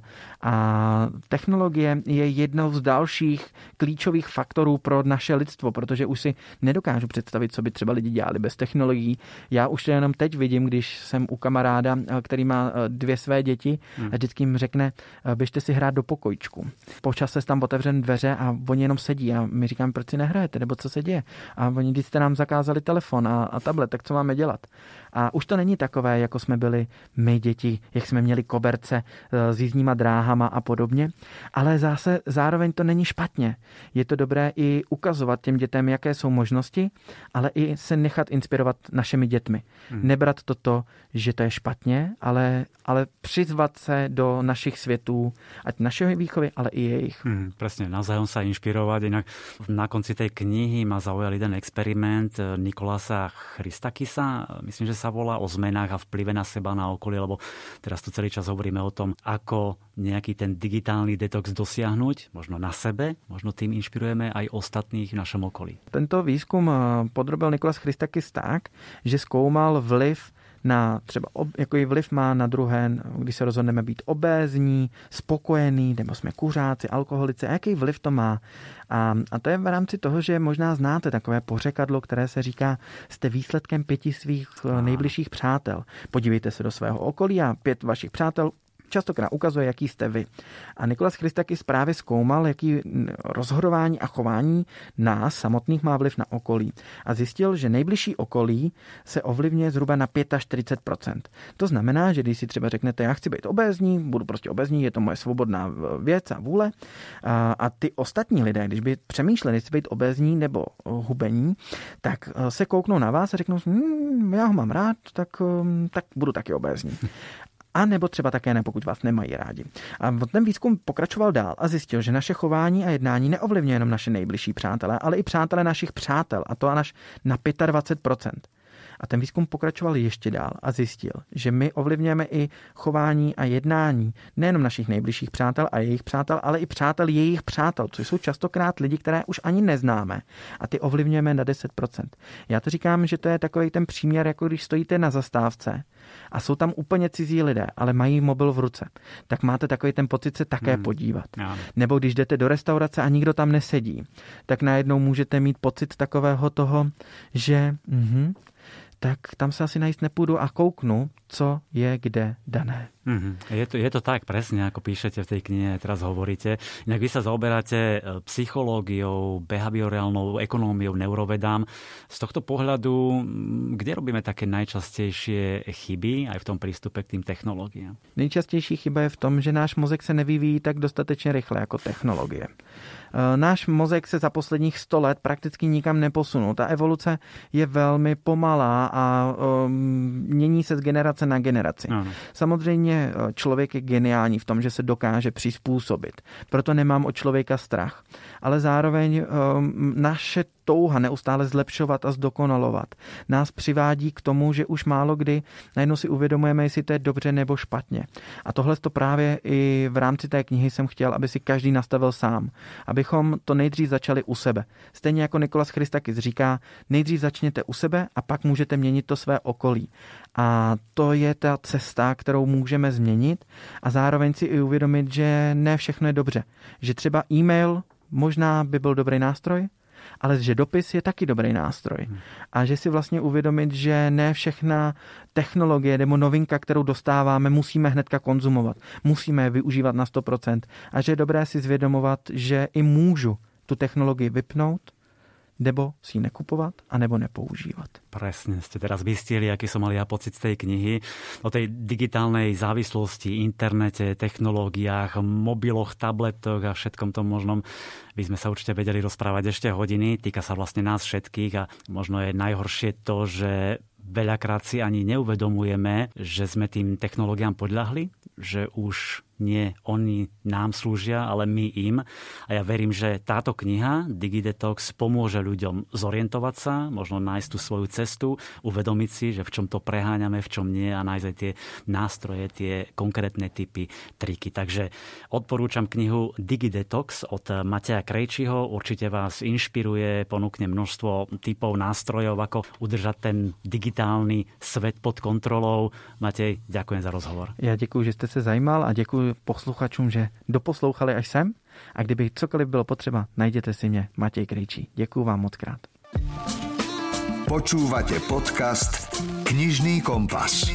A technologie je jednou z dalších klíčových faktorů pro naše lidstvo, protože už si nedokážu představit, co by třeba lidi dělali bez technologií. Já už to jenom teď vidím, když jsem u kamaráda, který má dvě své děti a vždycky jim řekne, běžte si hrát do pokojíčku. Po čase tam otevřen dveře a oni jenom sedí a my říkám, proč si nehrajete, nebo co se děje. A oni, když jste nám zakázali telefon a, a tablet, tak co máme dělat? A už to není takové, jako jsme byli my děti, jak jsme měli koberce s jízdníma dráhama a podobně, ale zase zároveň to není špatně. Je to dobré i ukazovat těm dětem, jaké jsou možnosti, ale i se nechat inspirovat našimi dětmi. Hmm. Nebrat toto, že to je špatně, ale, ale přizvat se do našich světů, ať našeho výchovy, ale i jejich. Hmm, presne, navzájom sa inšpirovať. Inak na konci tej knihy ma zaujal jeden experiment Nikolasa Christakisa, myslím, že sa volá, o zmenách a vplyve na seba, na okolie, lebo teraz tu celý čas hovoríme o tom, ako nejaký ten digitálny detox dosiahnuť, možno na sebe, možno tým inšpirujeme aj ostatných v našom okolí. Tento výzkum podrobil Nikolas Christakis tak, že zkoumal vliv na třeba, jaký vliv má na druhé, když se rozhodneme být obézní, spokojení, nebo jsme kuřáci, alkoholici, a jaký vliv to má. A, a to je v rámci toho, že možná znáte takové pořekadlo, které se říká, jste výsledkem pěti svých nejbližších přátel. Podívejte se do svého okolí a pět vašich přátel častokrát ukazuje, jaký jste vy. A Nikolas Christakis právě zkoumal, jaký rozhodování a chování nás samotných má vliv na okolí. A zjistil, že nejbližší okolí se ovlivňuje zhruba na čtyřicet pět procent. To znamená, že když si třeba řeknete, já chci být obézní, budu prostě obézní, je to moje svobodná věc a vůle. A, a ty ostatní lidé, když by přemýšleli, jestli být obézní nebo hubení, tak se kouknou na vás a řeknou, hm, já ho mám rád, tak, tak budu taky obézní. A nebo třeba také ne, pokud vás nemají rádi. A ten výzkum pokračoval dál a zjistil, že naše chování a jednání neovlivňuje jenom naše nejbližší přátelé, ale i přátelé našich přátel, a to až na dvacet pět procent. A ten výzkum pokračoval ještě dál a zjistil, že my ovlivňujeme i chování a jednání nejenom našich nejbližších přátel a jejich přátel, ale i přátel jejich přátel, což jsou častokrát lidi, které už ani neznáme. A ty ovlivňujeme na deset procent. Já to říkám, že to je takový ten příměr, jako když stojíte na zastávce a jsou tam úplně cizí lidé, ale mají mobil v ruce. Tak máte takový ten pocit se také hmm. podívat. Ja. Nebo když jdete do restaurace a nikdo tam nesedí, tak najednou můžete mít pocit takového toho, že mhm, tak tam sa asi najísť nepôjdu a kouknu, co je kde dané. Mm-hmm. Je to, je to tak, presne, ako píšete v tej knihe, teraz hovoríte. Inak vy sa zaoberáte psychológiou, behaviorálnou ekonómiou, neurovedám. Z tohto pohľadu, kde robíme také najčastejšie chyby aj v tom prístupe k tým technológiám? Nejčastější chyba je v tom, že náš mozek se nevyvíjí tak dostatečně rychle jako technologie. Náš mozek se za posledních sto let prakticky nikam neposunul. Ta evoluce je velmi pomalá a um, mění se z generace na generaci. Ano. Samozřejmě Samozřejmě člověk je geniální v tom, že se dokáže přizpůsobit. Proto nemám od člověka strach. Ale zároveň naše touha neustále zlepšovat a zdokonalovat nás přivádí k tomu, že už málo kdy najednou si uvědomujeme, jestli to je dobře nebo špatně. A tohle to právě i v rámci té knihy jsem chtěl, aby si každý nastavil sám. Abychom to nejdřív začali u sebe. Stejně jako Nikolas Christakis říká, nejdřív začněte u sebe a pak můžete měnit to své okolí. A to je ta cesta, kterou můžeme změnit a zároveň si i uvědomit, že ne všechno je dobře. Že třeba e-mail možná by byl dobrý nástroj, ale že dopis je taky dobrý nástroj. A že si vlastně uvědomit, že ne všechna technologie nebo novinka, kterou dostáváme, musíme hnedka konzumovat. Musíme je využívat na sto procent. A že je dobré si zvědomovat, že i můžu tu technologii vypnout, nebo si ji nekupovat, anebo nepoužívať. Presne, ste teraz vystihli, aký som mal ja pocit z tej knihy. O tej digitálnej závislosti, internete, technológiách, mobiloch, tabletoch a všetkom tom možnom by sme sa určite vedeli rozprávať ešte hodiny. Týka sa vlastne nás všetkých a možno je najhoršie to, že veľakrát si ani neuvedomujeme, že sme tým technológiám podľahli, že už nie oni nám slúžia, ale my im. A ja verím, že táto kniha DigiDetox pomôže ľuďom zorientovať sa, možno nájsť tú svoju cestu, uvedomiť si, že v čom to preháňame, v čom nie a nájsť aj tie nástroje, tie konkrétne typy, triky. Takže odporúčam knihu DigiDetox od Mateja Krejčího. Určite vás inšpiruje, ponúkne množstvo typov, nástrojov, ako udržať ten digitálny svet pod kontrolou. Matej, ďakujem za rozhovor. Ja ďakujem, že ste sa zajímal a ďakujem posluchačům, že doposlouchali až sem a kdyby cokoliv bylo potřeba, najděte si mě, Matěj Krejčí. Děkuju vám moc krát. Počúvate podcast Knižný kompas.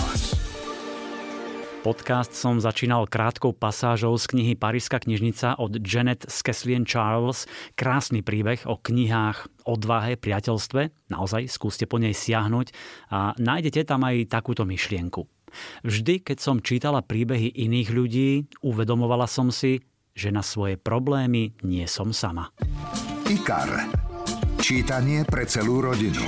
Podcast som začínal krátkou pasážou z knihy Paríska knižnica od Janet Skeslien Charles. Krásny príbeh o knihách, odvahe, priateľstve. Naozaj, skúste po nej siahnuť a nájdete tam aj takúto myšlienku. Vždy, keď som čítala príbehy iných ľudí, uvedomovala som si, že na svoje problémy nie som sama. IKAR. Čítanie pre celú rodinu.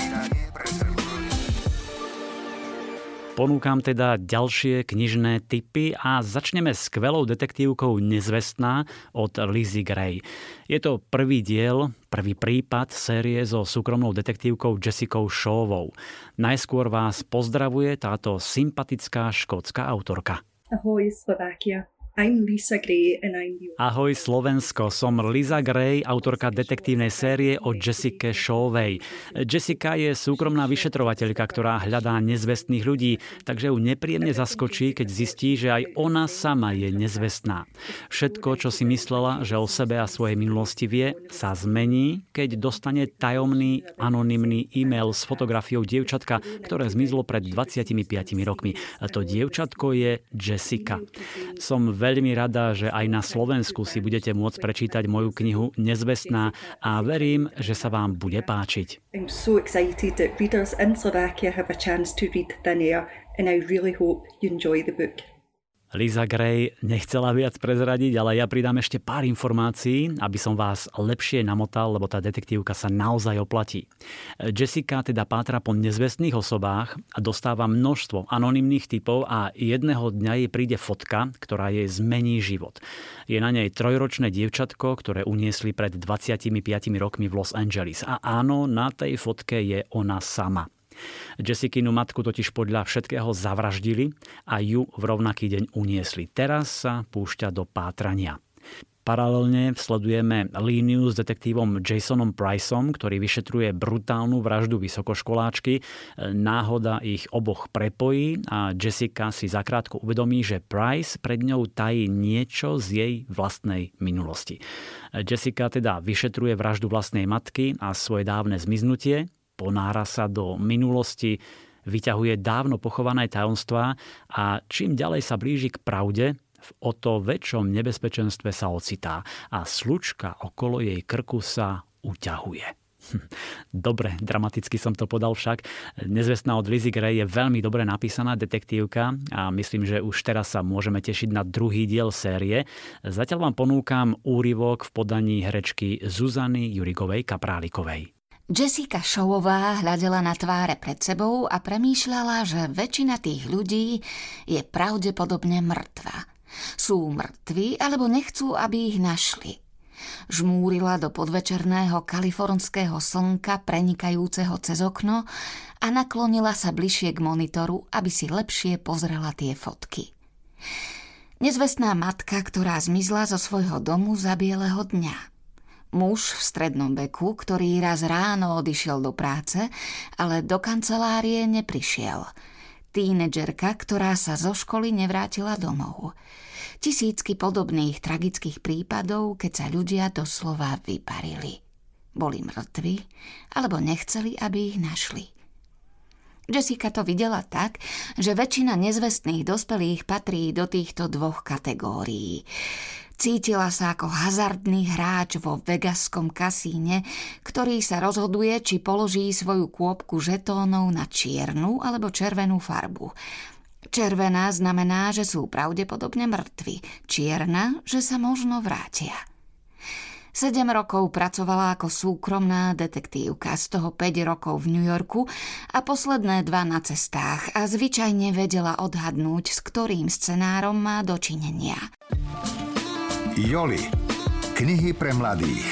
Ponúkam teda ďalšie knižné tipy a začneme skvelou detektívkou Nezvestná od Lizzie Gray. Je to prvý diel, prvý prípad série so súkromnou detektívkou Jessicou Shawovou. Najskôr vás pozdravuje táto sympatická škótska autorka. Ahoj Slovakia. I'm Lisa Gray and I'm the... Ahoj Slovensko, som Liza Gray, autorka detektívnej série o Jessike Shawovej. Jessica je súkromná vyšetrovateľka, ktorá hľadá nezvestných ľudí, takže ju nepríjemne zaskočí, keď zistí, že aj ona sama je nezvestná. Všetko, čo si myslela, že o sebe a svojej minulosti vie, sa zmení, keď dostane tajomný, anonymný e-mail s fotografiou dievčatka, ktoré zmizlo pred dvadsiatimi piatimi rokmi. A to dievčatko je Jessica. Som veľmi rada, že aj na Slovensku si budete môcť prečítať moju knihu Nezvestná a verím, že sa vám bude páčiť. I'm so excited that readers in Slovakia have a chance to read Thin Air and I really hope you enjoy the book. Liza Gray nechcela viac prezradiť, ale ja pridám ešte pár informácií, aby som vás lepšie namotal, lebo tá detektívka sa naozaj oplatí. Jessica teda pátra po nezvestných osobách a dostáva množstvo anonymných typov a jedného dňa jej príde fotka, ktorá jej zmení život. Je na nej trojročné dievčatko, ktoré uniesli pred dvadsiatimi piatimi rokmi v Los Angeles. A áno, na tej fotke je ona sama. Jessicinu matku totiž podľa všetkého zavraždili a ju v rovnaký deň uniesli. Teraz sa púšťa do pátrania. Paralelne sledujeme líniu s detektívom Jasonom Priceom, ktorý vyšetruje brutálnu vraždu vysokoškoláčky. Náhoda ich oboch prepojí a Jessica si zakrátko uvedomí, že Price pred ňou tají niečo z jej vlastnej minulosti. Jessica teda vyšetruje vraždu vlastnej matky a svoje dávne zmiznutie, ponára sa do minulosti, vyťahuje dávno pochované tajomstvá a čím ďalej sa blíži k pravde, v o to väčšom nebezpečenstve sa ocitá a slučka okolo jej krku sa uťahuje. Dobre, dramaticky som to podal však. Nezvestná od Lizzie Gray je veľmi dobre napísaná detektívka a myslím, že už teraz sa môžeme tešiť na druhý diel série. Zatiaľ vám ponúkam úryvok v podaní herečky Zuzany Jurigovej Kaprálikovej. Jessica Showová hľadela na tváre pred sebou a premýšľala, že väčšina tých ľudí je pravdepodobne mŕtva. Sú mŕtvi, alebo nechcú, aby ich našli. Žmúrila do podvečerného kalifornského slnka prenikajúceho cez okno a naklonila sa bližšie k monitoru, aby si lepšie pozrela tie fotky. Nezvestná matka, ktorá zmizla zo svojho domu za bieleho dňa. Muž v strednom veku, ktorý raz ráno odišiel do práce, ale do kancelárie neprišiel. Tínedžerka, ktorá sa zo školy nevrátila domov. Tisícky podobných tragických prípadov, keď sa ľudia doslova vyparili. Boli mŕtvi, alebo nechceli, aby ich našli. Jessica to videla tak, že väčšina nezvestných dospelých patrí do týchto dvoch kategórií. Cítila sa ako hazardný hráč vo vegaskom kasíne, ktorý sa rozhoduje, či položí svoju kôpku žetónov na čiernu alebo červenú farbu. Červená znamená, že sú pravdepodobne mŕtvi, čierna, že sa možno vrátia. Sedem rokov pracovala ako súkromná detektívka, z toho päť rokov v New Yorku a posledné dva na cestách a zvyčajne vedela odhadnúť, s ktorým scenárom má dočinenia. Joli. Knihy pre mladých.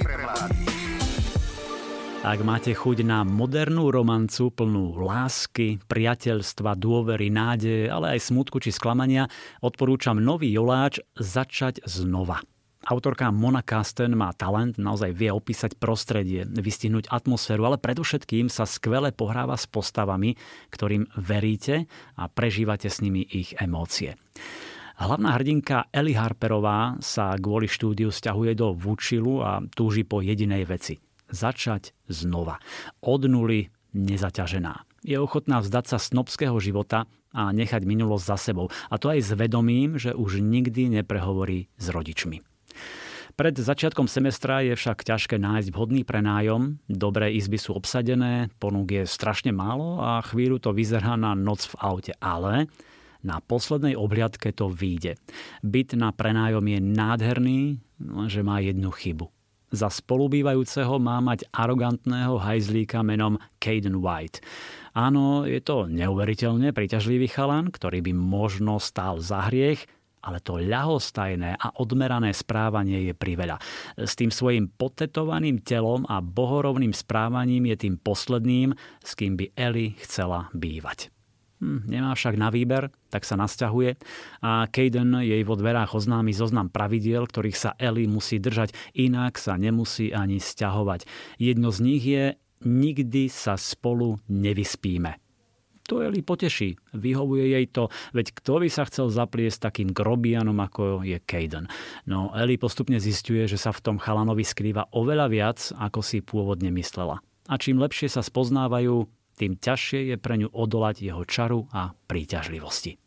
Ak máte chuť na modernú romancu plnú lásky, priateľstva, dôvery, nádeje, ale aj smutku či sklamania, odporúčam nový joláč Začať znova. Autorka Mona Kasten má talent, naozaj vie opísať prostredie, vystihnúť atmosféru, ale predovšetkým sa skvele pohráva s postavami, ktorým veríte a prežívate s nimi ich emócie. Hlavná hrdinka Ellie Harperová sa kvôli štúdiu sťahuje do Vučilu a túži po jedinej veci. Začať znova. Od nuly, nezaťažená. Je ochotná vzdať sa snobského života a nechať minulosť za sebou. A to aj s vedomím, že už nikdy neprehovorí s rodičmi. Pred začiatkom semestra je však ťažké nájsť vhodný prenájom. Dobré izby sú obsadené, ponúk je strašne málo a chvíľu to vyzerá na noc v aute. Ale na poslednej obhliadke to vyjde. Byt na prenájom je nádherný, lenže má jednu chybu. Za spolubývajúceho má mať arogantného hajzlíka menom Caden White. Áno, je to neuveriteľne príťažlivý chalan, ktorý by možno stál za hriech, ale to ľahostajné a odmerané správanie je priveľa. S tým svojím potetovaným telom a bohorovným správaním je tým posledným, s kým by Ellie chcela bývať. Hm, nemá však na výber, tak sa nasťahuje a Caden jej vo dverách oznámi zoznam pravidiel, ktorých sa Ellie musí držať, inak sa nemusí ani sťahovať. Jedno z nich je: nikdy sa spolu nevyspíme. To Ellie poteší, vyhovuje jej to, veď kto by sa chcel zapliesť takým grobianom, ako je Caden. No Ellie postupne zisťuje, že sa v tom chalanovi skrýva oveľa viac, ako si pôvodne myslela. A čím lepšie sa spoznávajú, tým ťažšie je pre ňu odolať jeho čaru a príťažlivosti.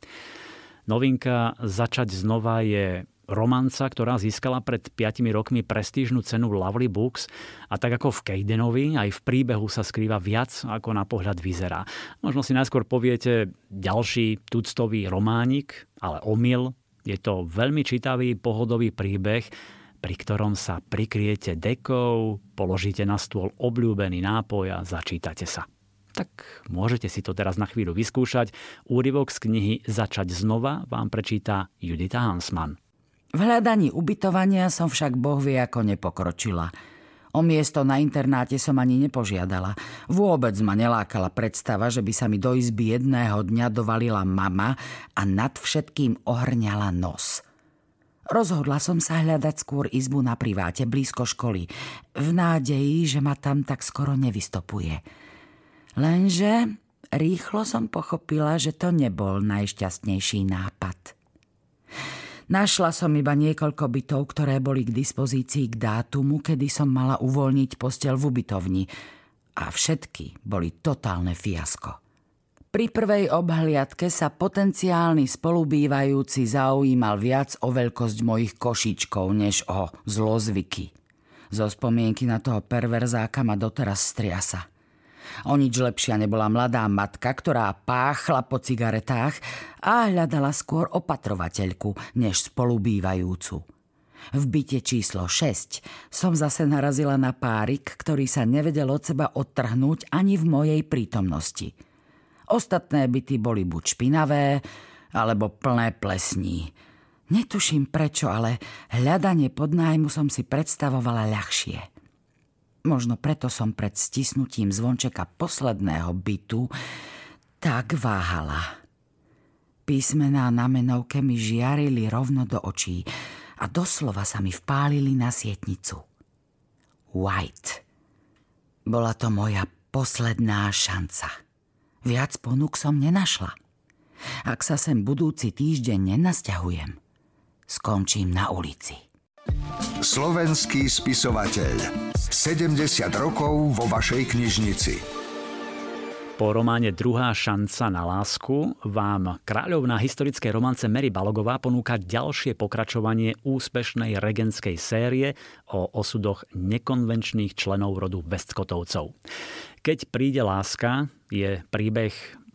Novinka Začať znova je romanca, ktorá získala pred piatimi rokmi prestížnu cenu Lovely Books a tak ako v Cadenovi, aj v príbehu sa skrýva viac, ako na pohľad vyzerá. Možno si najskôr poviete ďalší tuctový románik, ale omyl. Je to veľmi čítavý, pohodový príbeh, pri ktorom sa prikryjete dekou, položíte na stôl obľúbený nápoj a začítate sa. Tak môžete si to teraz na chvíľu vyskúšať. Úryvok z knihy Začať znova vám prečíta Judita Hansmann. V hľadaní ubytovania som však bohvie ako nepokročila. O miesto na internáte som ani nepožiadala. Vôbec ma nelákala predstava, že by sa mi do izby jedného dňa dovalila mama a nad všetkým ohrňala nos. Rozhodla som sa hľadať skôr izbu na priváte blízko školy, v nádeji, že ma tam tak skoro nevystopuje. Lenže rýchlo som pochopila, že to nebol najšťastnejší nápad. Našla som iba niekoľko bytov, ktoré boli k dispozícii k dátumu, kedy som mala uvoľniť posteľ v ubytovni. A všetky boli totálne fiasko. Pri prvej obhliadke sa potenciálny spolubývajúci zaujímal viac o veľkosť mojich košičkov, než o zlozvyky. Zo spomienky na toho perverzáka ma doteraz striasa. O nič lepšia nebola mladá matka, ktorá páchla po cigaretách a hľadala skôr opatrovateľku, než spolubývajúcu. V byte číslo šesť som zase narazila na párik, ktorý sa nevedel od seba odtrhnúť ani v mojej prítomnosti. Ostatné byty boli buď špinavé, alebo plné plesní. Netuším prečo, ale hľadanie podnájmu som si predstavovala ľahšie. Možno preto som pred stisnutím zvončeka posledného bytu tak váhala. Písmená na menovke mi žiarili rovno do očí a doslova sa mi vpálili na sietnicu. White. Bola to moja posledná šanca. Viac ponúk som nenašla. Ak sa sem budúci týždeň nenasťahujem, skončím na ulici. Slovenský spisovateľ. sedemdesiat rokov vo vašej knižnici. Po románe Druhá šanca na lásku vám kráľovná historickej romance Mary Balogová ponúka ďalšie pokračovanie úspešnej regentskej série o osudoch nekonvenčných členov rodu Westcottovcov. Keď príde láska je príbeh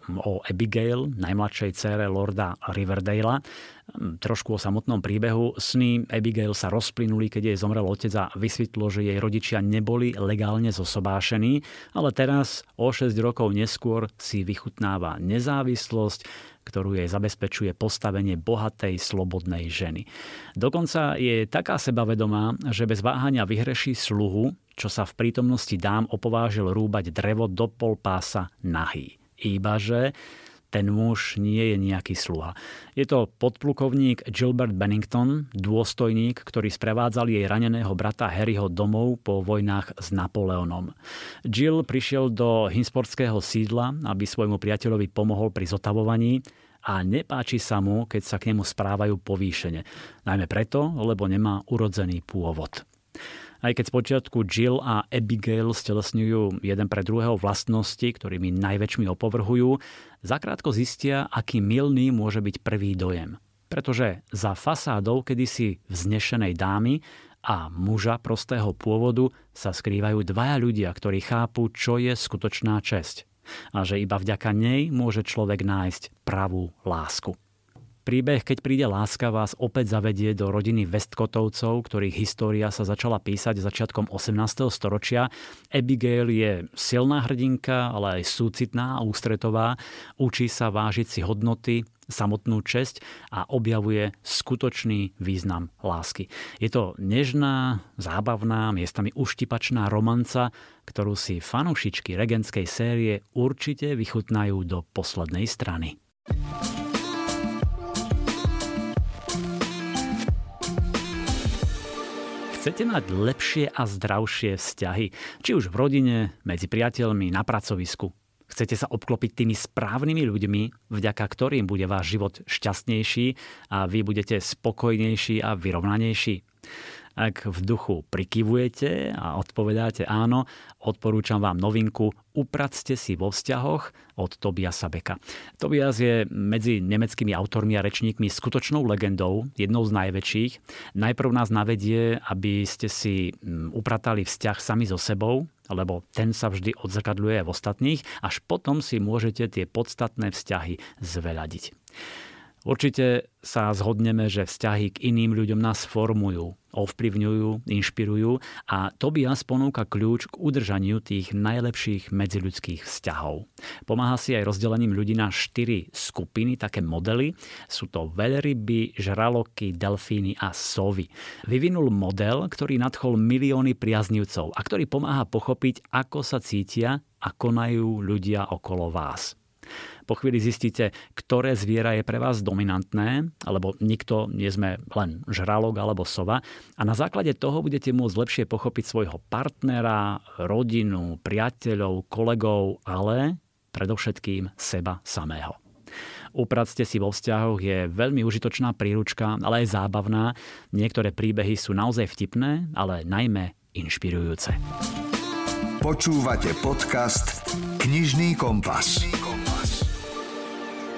o Abigail, najmladšej dcére lorda Riverdala. Trošku o samotnom príbehu. Sny Abigail sa rozplynuli, keď jej zomrel otec a vysvetlo, že jej rodičia neboli legálne zosobášení, ale teraz, o šesť rokov neskôr, si vychutnáva nezávislosť, ktorú jej zabezpečuje postavenie bohatej, slobodnej ženy. Dokonca je taká sebavedomá, že bez váhania vyhreší sluhu, čo sa v prítomnosti dám opovážil rúbať drevo do pol pása nahý. Ibaže ten muž nie je nejaký sluha. Je to podplukovník Gilbert Bennington, dôstojník, ktorý sprevádzal jej raneného brata Harryho domov po vojnách s Napoleonom. Jill prišiel do hinsportského sídla, aby svojmu priateľovi pomohol pri zotavovaní a nepáči sa mu, keď sa k nemu správajú povýšene. Najmä preto, lebo nemá urodzený pôvod. Aj keď spočiatku Jill a Abigail stelesňujú jeden pre druhého vlastnosti, ktorými najväčšmi opovrhujú, zakrátko zistia, aký mylný môže byť prvý dojem. Pretože za fasádou kedysi vznešenej dámy a muža prostého pôvodu sa skrývajú dvaja ľudia, ktorí chápu, čo je skutočná česť. A že iba vďaka nej môže človek nájsť pravú lásku. Príbeh Keď príde láska vás opäť zavedie do rodiny Westcottovcov, ktorých história sa začala písať začiatkom osemnásteho storočia. Abigail je silná hrdinka, ale aj súcitná a ústretová. Učí sa vážiť si hodnoty, samotnú česť a objavuje skutočný význam lásky. Je to nežná, zábavná, miestami uštipačná romanca, ktorú si fanúšičky regentskej série určite vychutnajú do poslednej strany. Chcete mať lepšie a zdravšie vzťahy, či už v rodine, medzi priateľmi, na pracovisku. Chcete sa obklopiť tými správnymi ľuďmi, vďaka ktorým bude váš život šťastnejší a vy budete spokojnejší a vyrovnanejší. Ak v duchu prikyvujete a odpovedáte áno, odporúčam vám novinku Upracte si vo vzťahoch od Tobiasa Becka. Tobias je medzi nemeckými autormi a rečníkmi skutočnou legendou, jednou z najväčších. Najprv nás navedie, aby ste si upratali vzťah sami so sebou, lebo ten sa vždy odzrkadľuje v ostatných, až potom si môžete tie podstatné vzťahy zveľadiť. Určite sa zhodneme, že vzťahy k iným ľuďom nás formujú, ovplyvňujú, inšpirujú a Tobias ponúka kľúč k udržaniu tých najlepších medziľudských vzťahov. Pomáha si aj rozdelením ľudí na štyri skupiny, také modely. Sú to veľryby, žraloky, delfíny a sovy. Vyvinul model, ktorý nadchol milióny priaznivcov a ktorý pomáha pochopiť, ako sa cítia a konajú ľudia okolo vás. Po chvíli zistíte, ktoré zviera je pre vás dominantné, alebo nikto nie sme len žralok alebo sova. A na základe toho budete môcť lepšie pochopiť svojho partnera, rodinu, priateľov, kolegov, ale predovšetkým seba samého. Upracte si vo vzťahoch je veľmi užitočná príručka, ale aj zábavná. Niektoré príbehy sú naozaj vtipné, ale najmä inšpirujúce. Počúvate podcast Knižný kompas.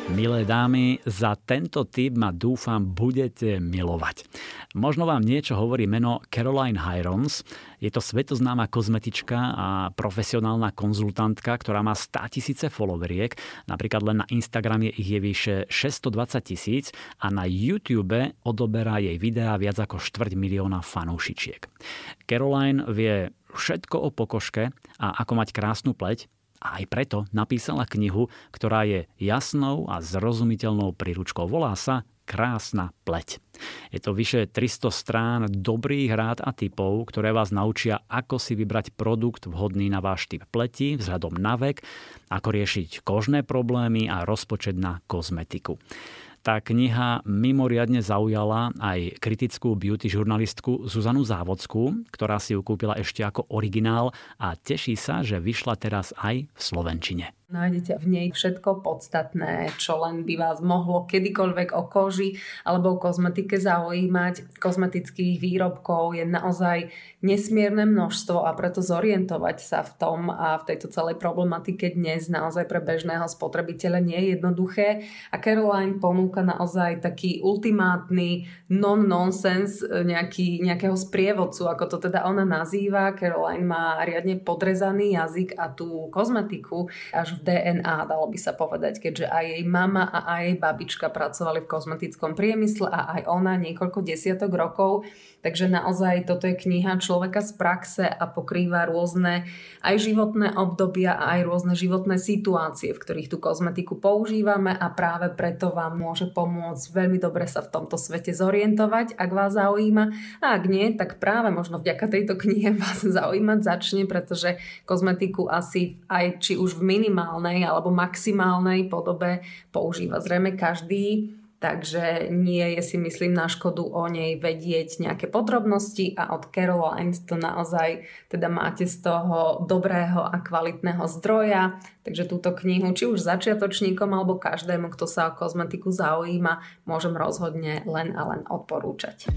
Milé dámy, za tento tip ma dúfam budete milovať. Možno vám niečo hovorí meno Caroline Hirons. Je to svetoznáma kozmetička a profesionálna konzultantka, ktorá má státisíce followeriek. Napríklad len na Instagrame ich je vyše šesťstodvadsať tisíc a na YouTube odoberá jej videá viac ako štvrť milióna fanúšičiek. Caroline vie všetko o pokožke a ako mať krásnu pleť. A aj preto napísala knihu, ktorá je jasnou a zrozumiteľnou príručkou. Volá sa Krásna pleť. Je to vyše tristo strán dobrých rád a tipov, ktoré vás naučia, ako si vybrať produkt vhodný na váš typ pleti vzhľadom na vek, ako riešiť kožné problémy a rozpočet na kozmetiku. Tá kniha mimoriadne zaujala aj kritickú beauty žurnalistku Zuzanu Závodskú, ktorá si ju kúpila ešte ako originál a teší sa, že vyšla teraz aj v slovenčine. Nájdete v nej všetko podstatné, čo len by vás mohlo kedykoľvek o koži alebo o kozmetike zaujímať. Kozmetických výrobkov je naozaj nesmierne množstvo a preto zorientovať sa v tom a v tejto celej problematike dnes naozaj pre bežného spotrebiteľa nie je jednoduché. A Caroline ponúka naozaj taký ultimátny non-nonsense nejaký, nejakého sprievodcu, ako to teda ona nazýva. Caroline má riadne podrezaný jazyk a tú kozmetiku až v dé en á, dalo by sa povedať, keďže aj jej mama a aj jej babička pracovali v kozmetickom priemysle a aj ona niekoľko desiatok rokov. Takže naozaj toto je kniha človeka z praxe a pokrýva rôzne aj životné obdobia a aj rôzne životné situácie, v ktorých tú kozmetiku používame a práve preto vám môže pomôcť veľmi dobre sa v tomto svete zorientovať, ak vás zaujíma. A ak nie, tak práve možno vďaka tejto knihe vás zaujímať začne, pretože kozmetiku asi aj či už v minimálnej alebo maximálnej podobe používa zrejme každý. Takže nie je, si myslím, na škodu o nej vedieť nejaké podrobnosti a od Caroline to naozaj teda máte z toho dobrého a kvalitného zdroja. Takže túto knihu, či už začiatočníkom alebo každému, kto sa o kozmetiku zaujíma, môžem rozhodne len a len odporúčať.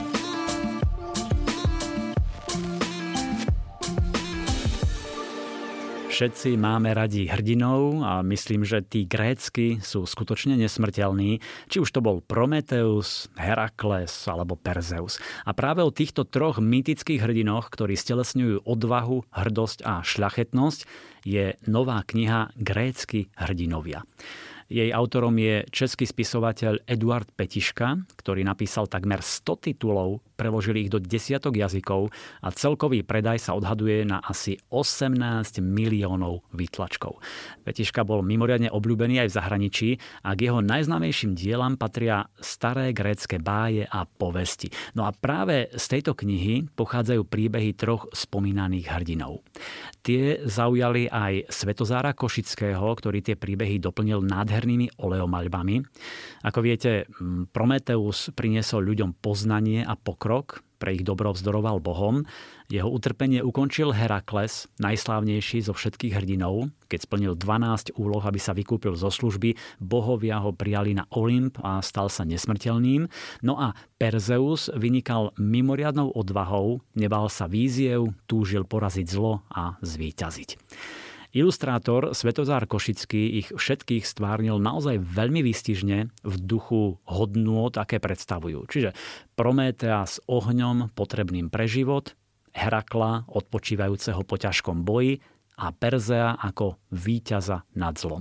Všetci máme radi hrdinov a myslím, že tí grécky sú skutočne nesmrteľní, či už to bol Prometeus, Herakles alebo Perzeus. A práve o týchto troch mýtických hrdinoch, ktorí stelesňujú odvahu, hrdosť a šľachetnosť, je nová kniha Grécky hrdinovia. Jej autorom je český spisovateľ Eduard Petiška, ktorý napísal takmer sto titulov, preložil ich do desiatok jazykov a celkový predaj sa odhaduje na asi osemnásť miliónov výtlačkov. Petiška bol mimoriadne obľúbený aj v zahraničí a k jeho najznámejším dielam patria staré grécke báje a povesti. No a práve z tejto knihy pochádzajú príbehy troch spomínaných hrdinov. Tie zaujali aj Svetozára Košického, ktorý tie príbehy doplnil nádhernými oleomaľbami. Ako viete, Prometeus priniesol ľuďom poznanie a pokrok, pre ich dobro vzdoroval Bohom. Jeho utrpenie ukončil Herakles, najslávnejší zo všetkých hrdinov. Keď splnil dvanásť úloh, aby sa vykúpil zo služby, bohovia ho prijali na Olymp a stal sa nesmrteľným. No a Perzeus vynikal mimoriadnou odvahou, nebal sa víziev, túžil poraziť zlo a zvíťaziť. Ilustrátor Svetozár Košický ich všetkých stvárnil naozaj veľmi výstižne v duchu hodnôt, aké predstavujú. Čiže Prométea s ohňom potrebným pre život, Herakla odpočívajúceho po ťažkom boji a Perzea ako víťaza nad zlom.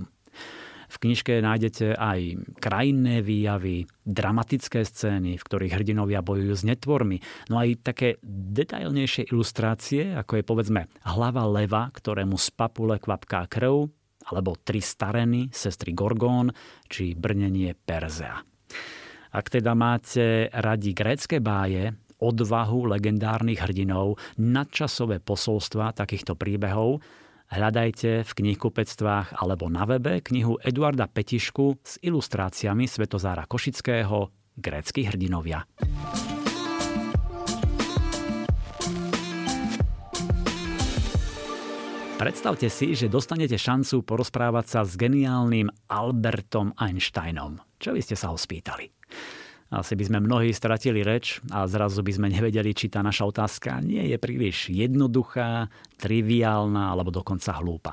V knižke nájdete aj krajinné výjavy, dramatické scény, v ktorých hrdinovia bojujú s netvormi, no aj také detailnejšie ilustrácie, ako je povedzme hlava leva, ktorému z papule kvapká krv, alebo tri stareny, sestry Gorgón, či brnenie Perzea. Ak teda máte radi grécke báje, odvahu legendárnych hrdinov, nadčasové posolstva takýchto príbehov, hľadajte v knihkupectvách alebo na webe knihu Eduarda Petišku s ilustráciami Svetozára Košického Grécky hrdinovia. Predstavte si, že dostanete šancu porozprávať sa s geniálnym Albertom Einsteinom. Čo by ste sa ho spýtali? Asi by sme mnohí stratili reč a zrazu by sme nevedeli, či tá naša otázka nie je príliš jednoduchá, triviálna alebo dokonca hlúpa.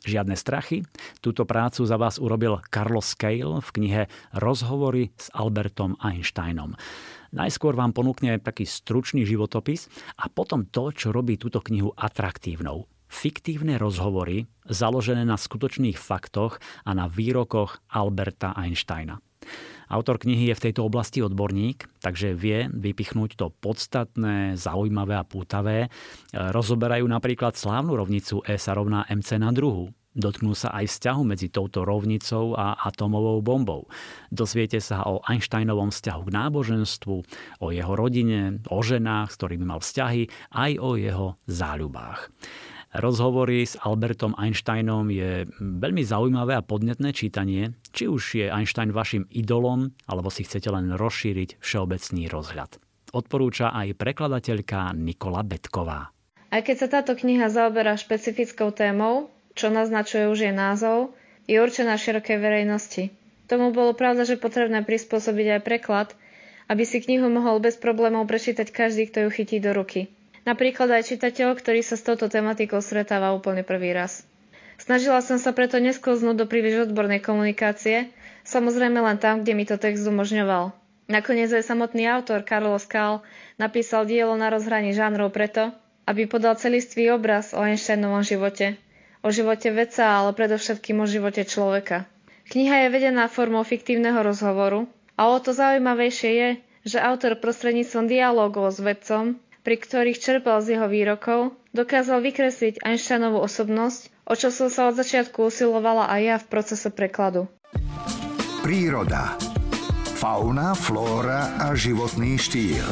Žiadne strachy? Túto prácu za vás urobil Carlos Cale v knihe Rozhovory s Albertom Einsteinom. Najskôr vám ponúkne taký stručný životopis a potom to, čo robí túto knihu atraktívnou. Fiktívne rozhovory založené na skutočných faktoch a na výrokoch Alberta Einsteina. Autor knihy je v tejto oblasti odborník, takže vie vypichnúť to podstatné, zaujímavé a pútavé. Rozoberajú napríklad slávnu rovnicu E sa rovná mc na druhú. Dotknú sa aj vzťahu medzi touto rovnicou a atomovou bombou. Dozviete sa o Einsteinovom vzťahu k náboženstvu, o jeho rodine, o ženách, s ktorými mal vzťahy, aj o jeho záľubách. Rozhovory s Albertom Einsteinom je veľmi zaujímavé a podnetné čítanie, či už je Einstein vašim idolom, alebo si chcete len rozšíriť všeobecný rozhľad. Odporúča aj prekladateľka Nikola Betková. Aj keď sa táto kniha zaoberá špecifickou témou, čo naznačuje už jej názov, je určená širokej verejnosti. Tomu bolo pravda, že potrebné prispôsobiť aj preklad, aby si knihu mohol bez problémov prečítať každý, kto ju chytí do ruky. Napríklad aj čitateľ, ktorý sa s touto tematikou stretáva úplne prvý raz. Snažila som sa preto nesklznúť do príliš odbornej komunikácie, samozrejme len tam, kde mi to text umožňoval. Nakoniec aj samotný autor Carlos Cale napísal dielo na rozhraní žánrov preto, aby podal celistvý obraz o Einsteinovom živote, o živote vedca, ale predovšetkým o živote človeka. Kniha je vedená formou fiktívneho rozhovoru a o to zaujímavejšie je, že autor prostredníctvom dialógov s vedcom, pri ktorých čerpal z jeho výrokov, dokázal vykresliť Einsteinovú osobnosť, o čo som sa od začiatku usilovala aj ja v procese prekladu. Príroda. Fauna, flóra a životný štýl.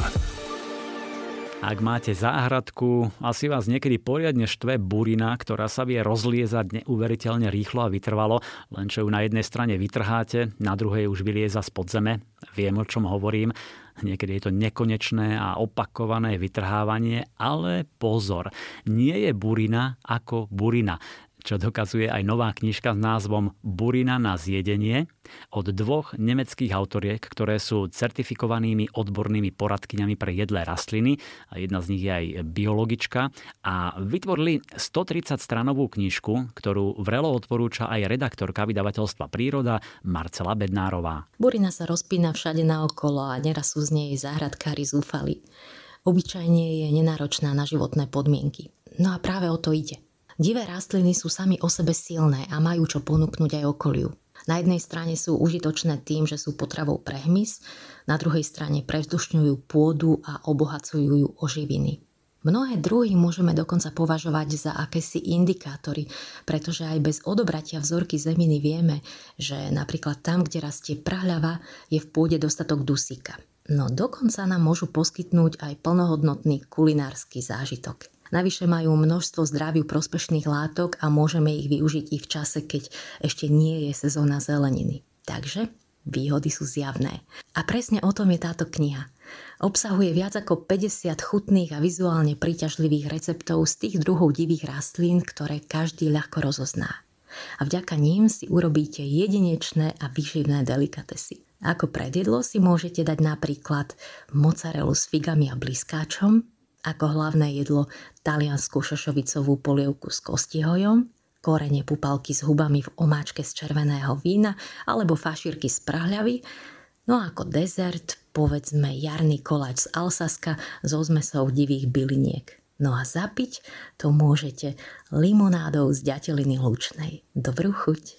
Ak máte záhradku, asi vás niekedy poriadne štve burina, ktorá sa vie rozliezať neuveriteľne rýchlo a vytrvalo, len čo ju na jednej strane vytrháte, na druhej už vylieza spod zeme. Viem, o čom hovorím. Niekedy je to nekonečné a opakované vytrhávanie, ale pozor, nie je burina ako burina, čo dokazuje aj nová knižka s názvom Burina na zjedenie od dvoch nemeckých autoriek, ktoré sú certifikovanými odbornými poradkyňami pre jedlé rastliny. A jedna z nich je aj biologička. A vytvorili stotridsať stranovú knižku, ktorú vrelo odporúča aj redaktorka vydavateľstva Príroda Marcela Bednárová. Burina sa rozpína všade naokolo a neraz sú z nej záhradkári zúfali. Obyčajne je nenáročná na životné podmienky. No a práve o to ide. Divé rastliny sú sami o sebe silné a majú čo ponúknuť aj okoliu. Na jednej strane sú užitočné tým, že sú potravou pre hmyz, na druhej strane prevzdušňujú pôdu a obohacujú ju o živiny. Mnohé druhy môžeme dokonca považovať za akési indikátory, pretože aj bez odobratia vzorky zeminy vieme, že napríklad tam, kde rastie prahľava, je v pôde dostatok dusíka. No dokonca nám môžu poskytnúť aj plnohodnotný kulinársky zážitok. Navyše majú množstvo zdraviu prospešných látok a môžeme ich využiť i v čase, keď ešte nie je sezóna zeleniny. Takže výhody sú zjavné. A presne o tom je táto kniha. Obsahuje viac ako päťdesiat chutných a vizuálne príťažlivých receptov z tých druhov divých rastlín, ktoré každý ľahko rozozná. A vďaka ním si urobíte jedinečné a výživné delikatesy. Ako predjedlo si môžete dať napríklad mozzarellu s figami a bliskáčom, ako hlavné jedlo taliansku šošovicovú polievku s kostihojom, korene pupalky s hubami v omáčke z červeného vína alebo fašírky z prahľavy, no a ako dezert povedzme jarný koláč z Alsaska so zmesou divých byliniek. No a zapiť to môžete limonádou z ďateliny lučnej. Dobrú chuť.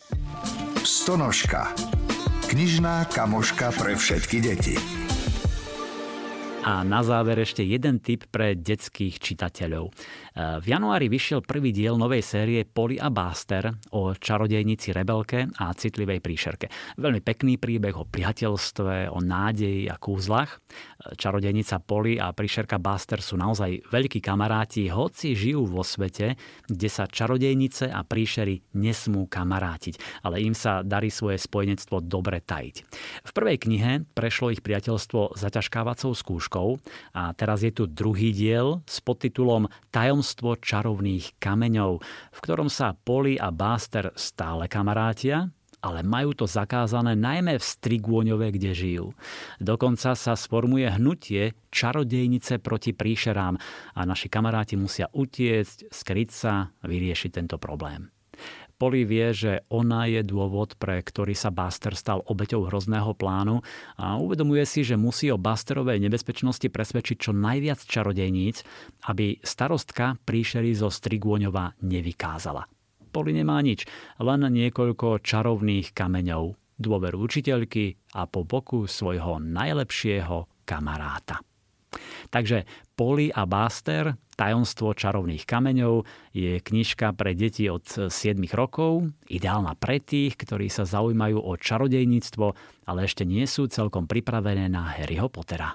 Stonožka. Knižná kamoška pre všetky deti. A na záver ešte jeden tip pre detských čitateľov. V januári vyšiel prvý diel novej série Polly a Buster o čarodejnici Rebelke a citlivej príšerke. Veľmi pekný príbeh o priateľstve, o nádeji a kúzlach. Čarodejnica Polly a príšerka Buster sú naozaj veľkí kamaráti, hoci žijú vo svete, kde sa čarodejnice a príšery nesmú kamarátiť, ale im sa darí svoje spojenectvo dobre tajiť. V prvej knihe prešlo ich priateľstvo zaťažkávacou skúškou a teraz je tu druhý diel s podtitulom Tajomstvo čarovných kameňov, v ktorom sa Polly a Buster stále kamarátia, ale majú to zakázané najmä v Strigôňove, kde žijú. Dokonca sa sformuje hnutie čarodejnice proti príšerám a naši kamaráti musia utiecť, skryť sa, vyriešiť tento problém. Polly vie, že ona je dôvod, pre ktorý sa Buster stal obeťou hrozného plánu a uvedomuje si, že musí o Busterovej nebezpečnosti presvedčiť čo najviac čarodejníc, aby starostka príšery zo Strigôňova nevykázala. Polly nemá nič, len niekoľko čarovných kameňov, dôveru učiteľky a po boku svojho najlepšieho kamaráta. Takže Polly a Buster, tajomstvo čarovných kameňov, je knižka pre deti od sedem rokov, ideálna pre tých, ktorí sa zaujímajú o čarodejníctvo, ale ešte nie sú celkom pripravené na Harryho Pottera.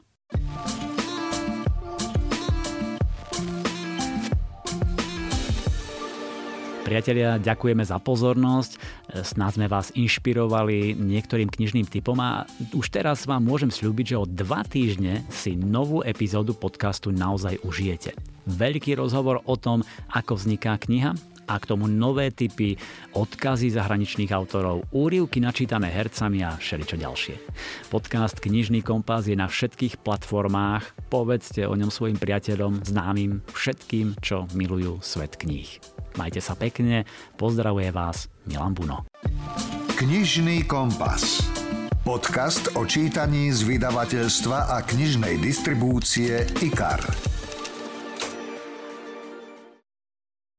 Priatelia, ďakujeme za pozornosť. Snáď sme vás inšpirovali niektorým knižným tipom a už teraz vám môžem sľúbiť, že o dva týždne si novú epizódu podcastu naozaj užijete. Veľký rozhovor o tom, ako vzniká kniha a k tomu nové tipy, odkazy zahraničných autorov, úryvky načítané hercami a všeličo ďalšie. Podcast Knižný kompas je na všetkých platformách. Povedzte o ňom svojim priateľom, známym, všetkým, čo milujú svet kníh. Majte sa pekne, pozdravuje vás Milan Buno. Knižný kompas. Podcast o čítaní z vydavateľstva a knižnej distribúcie í ká er.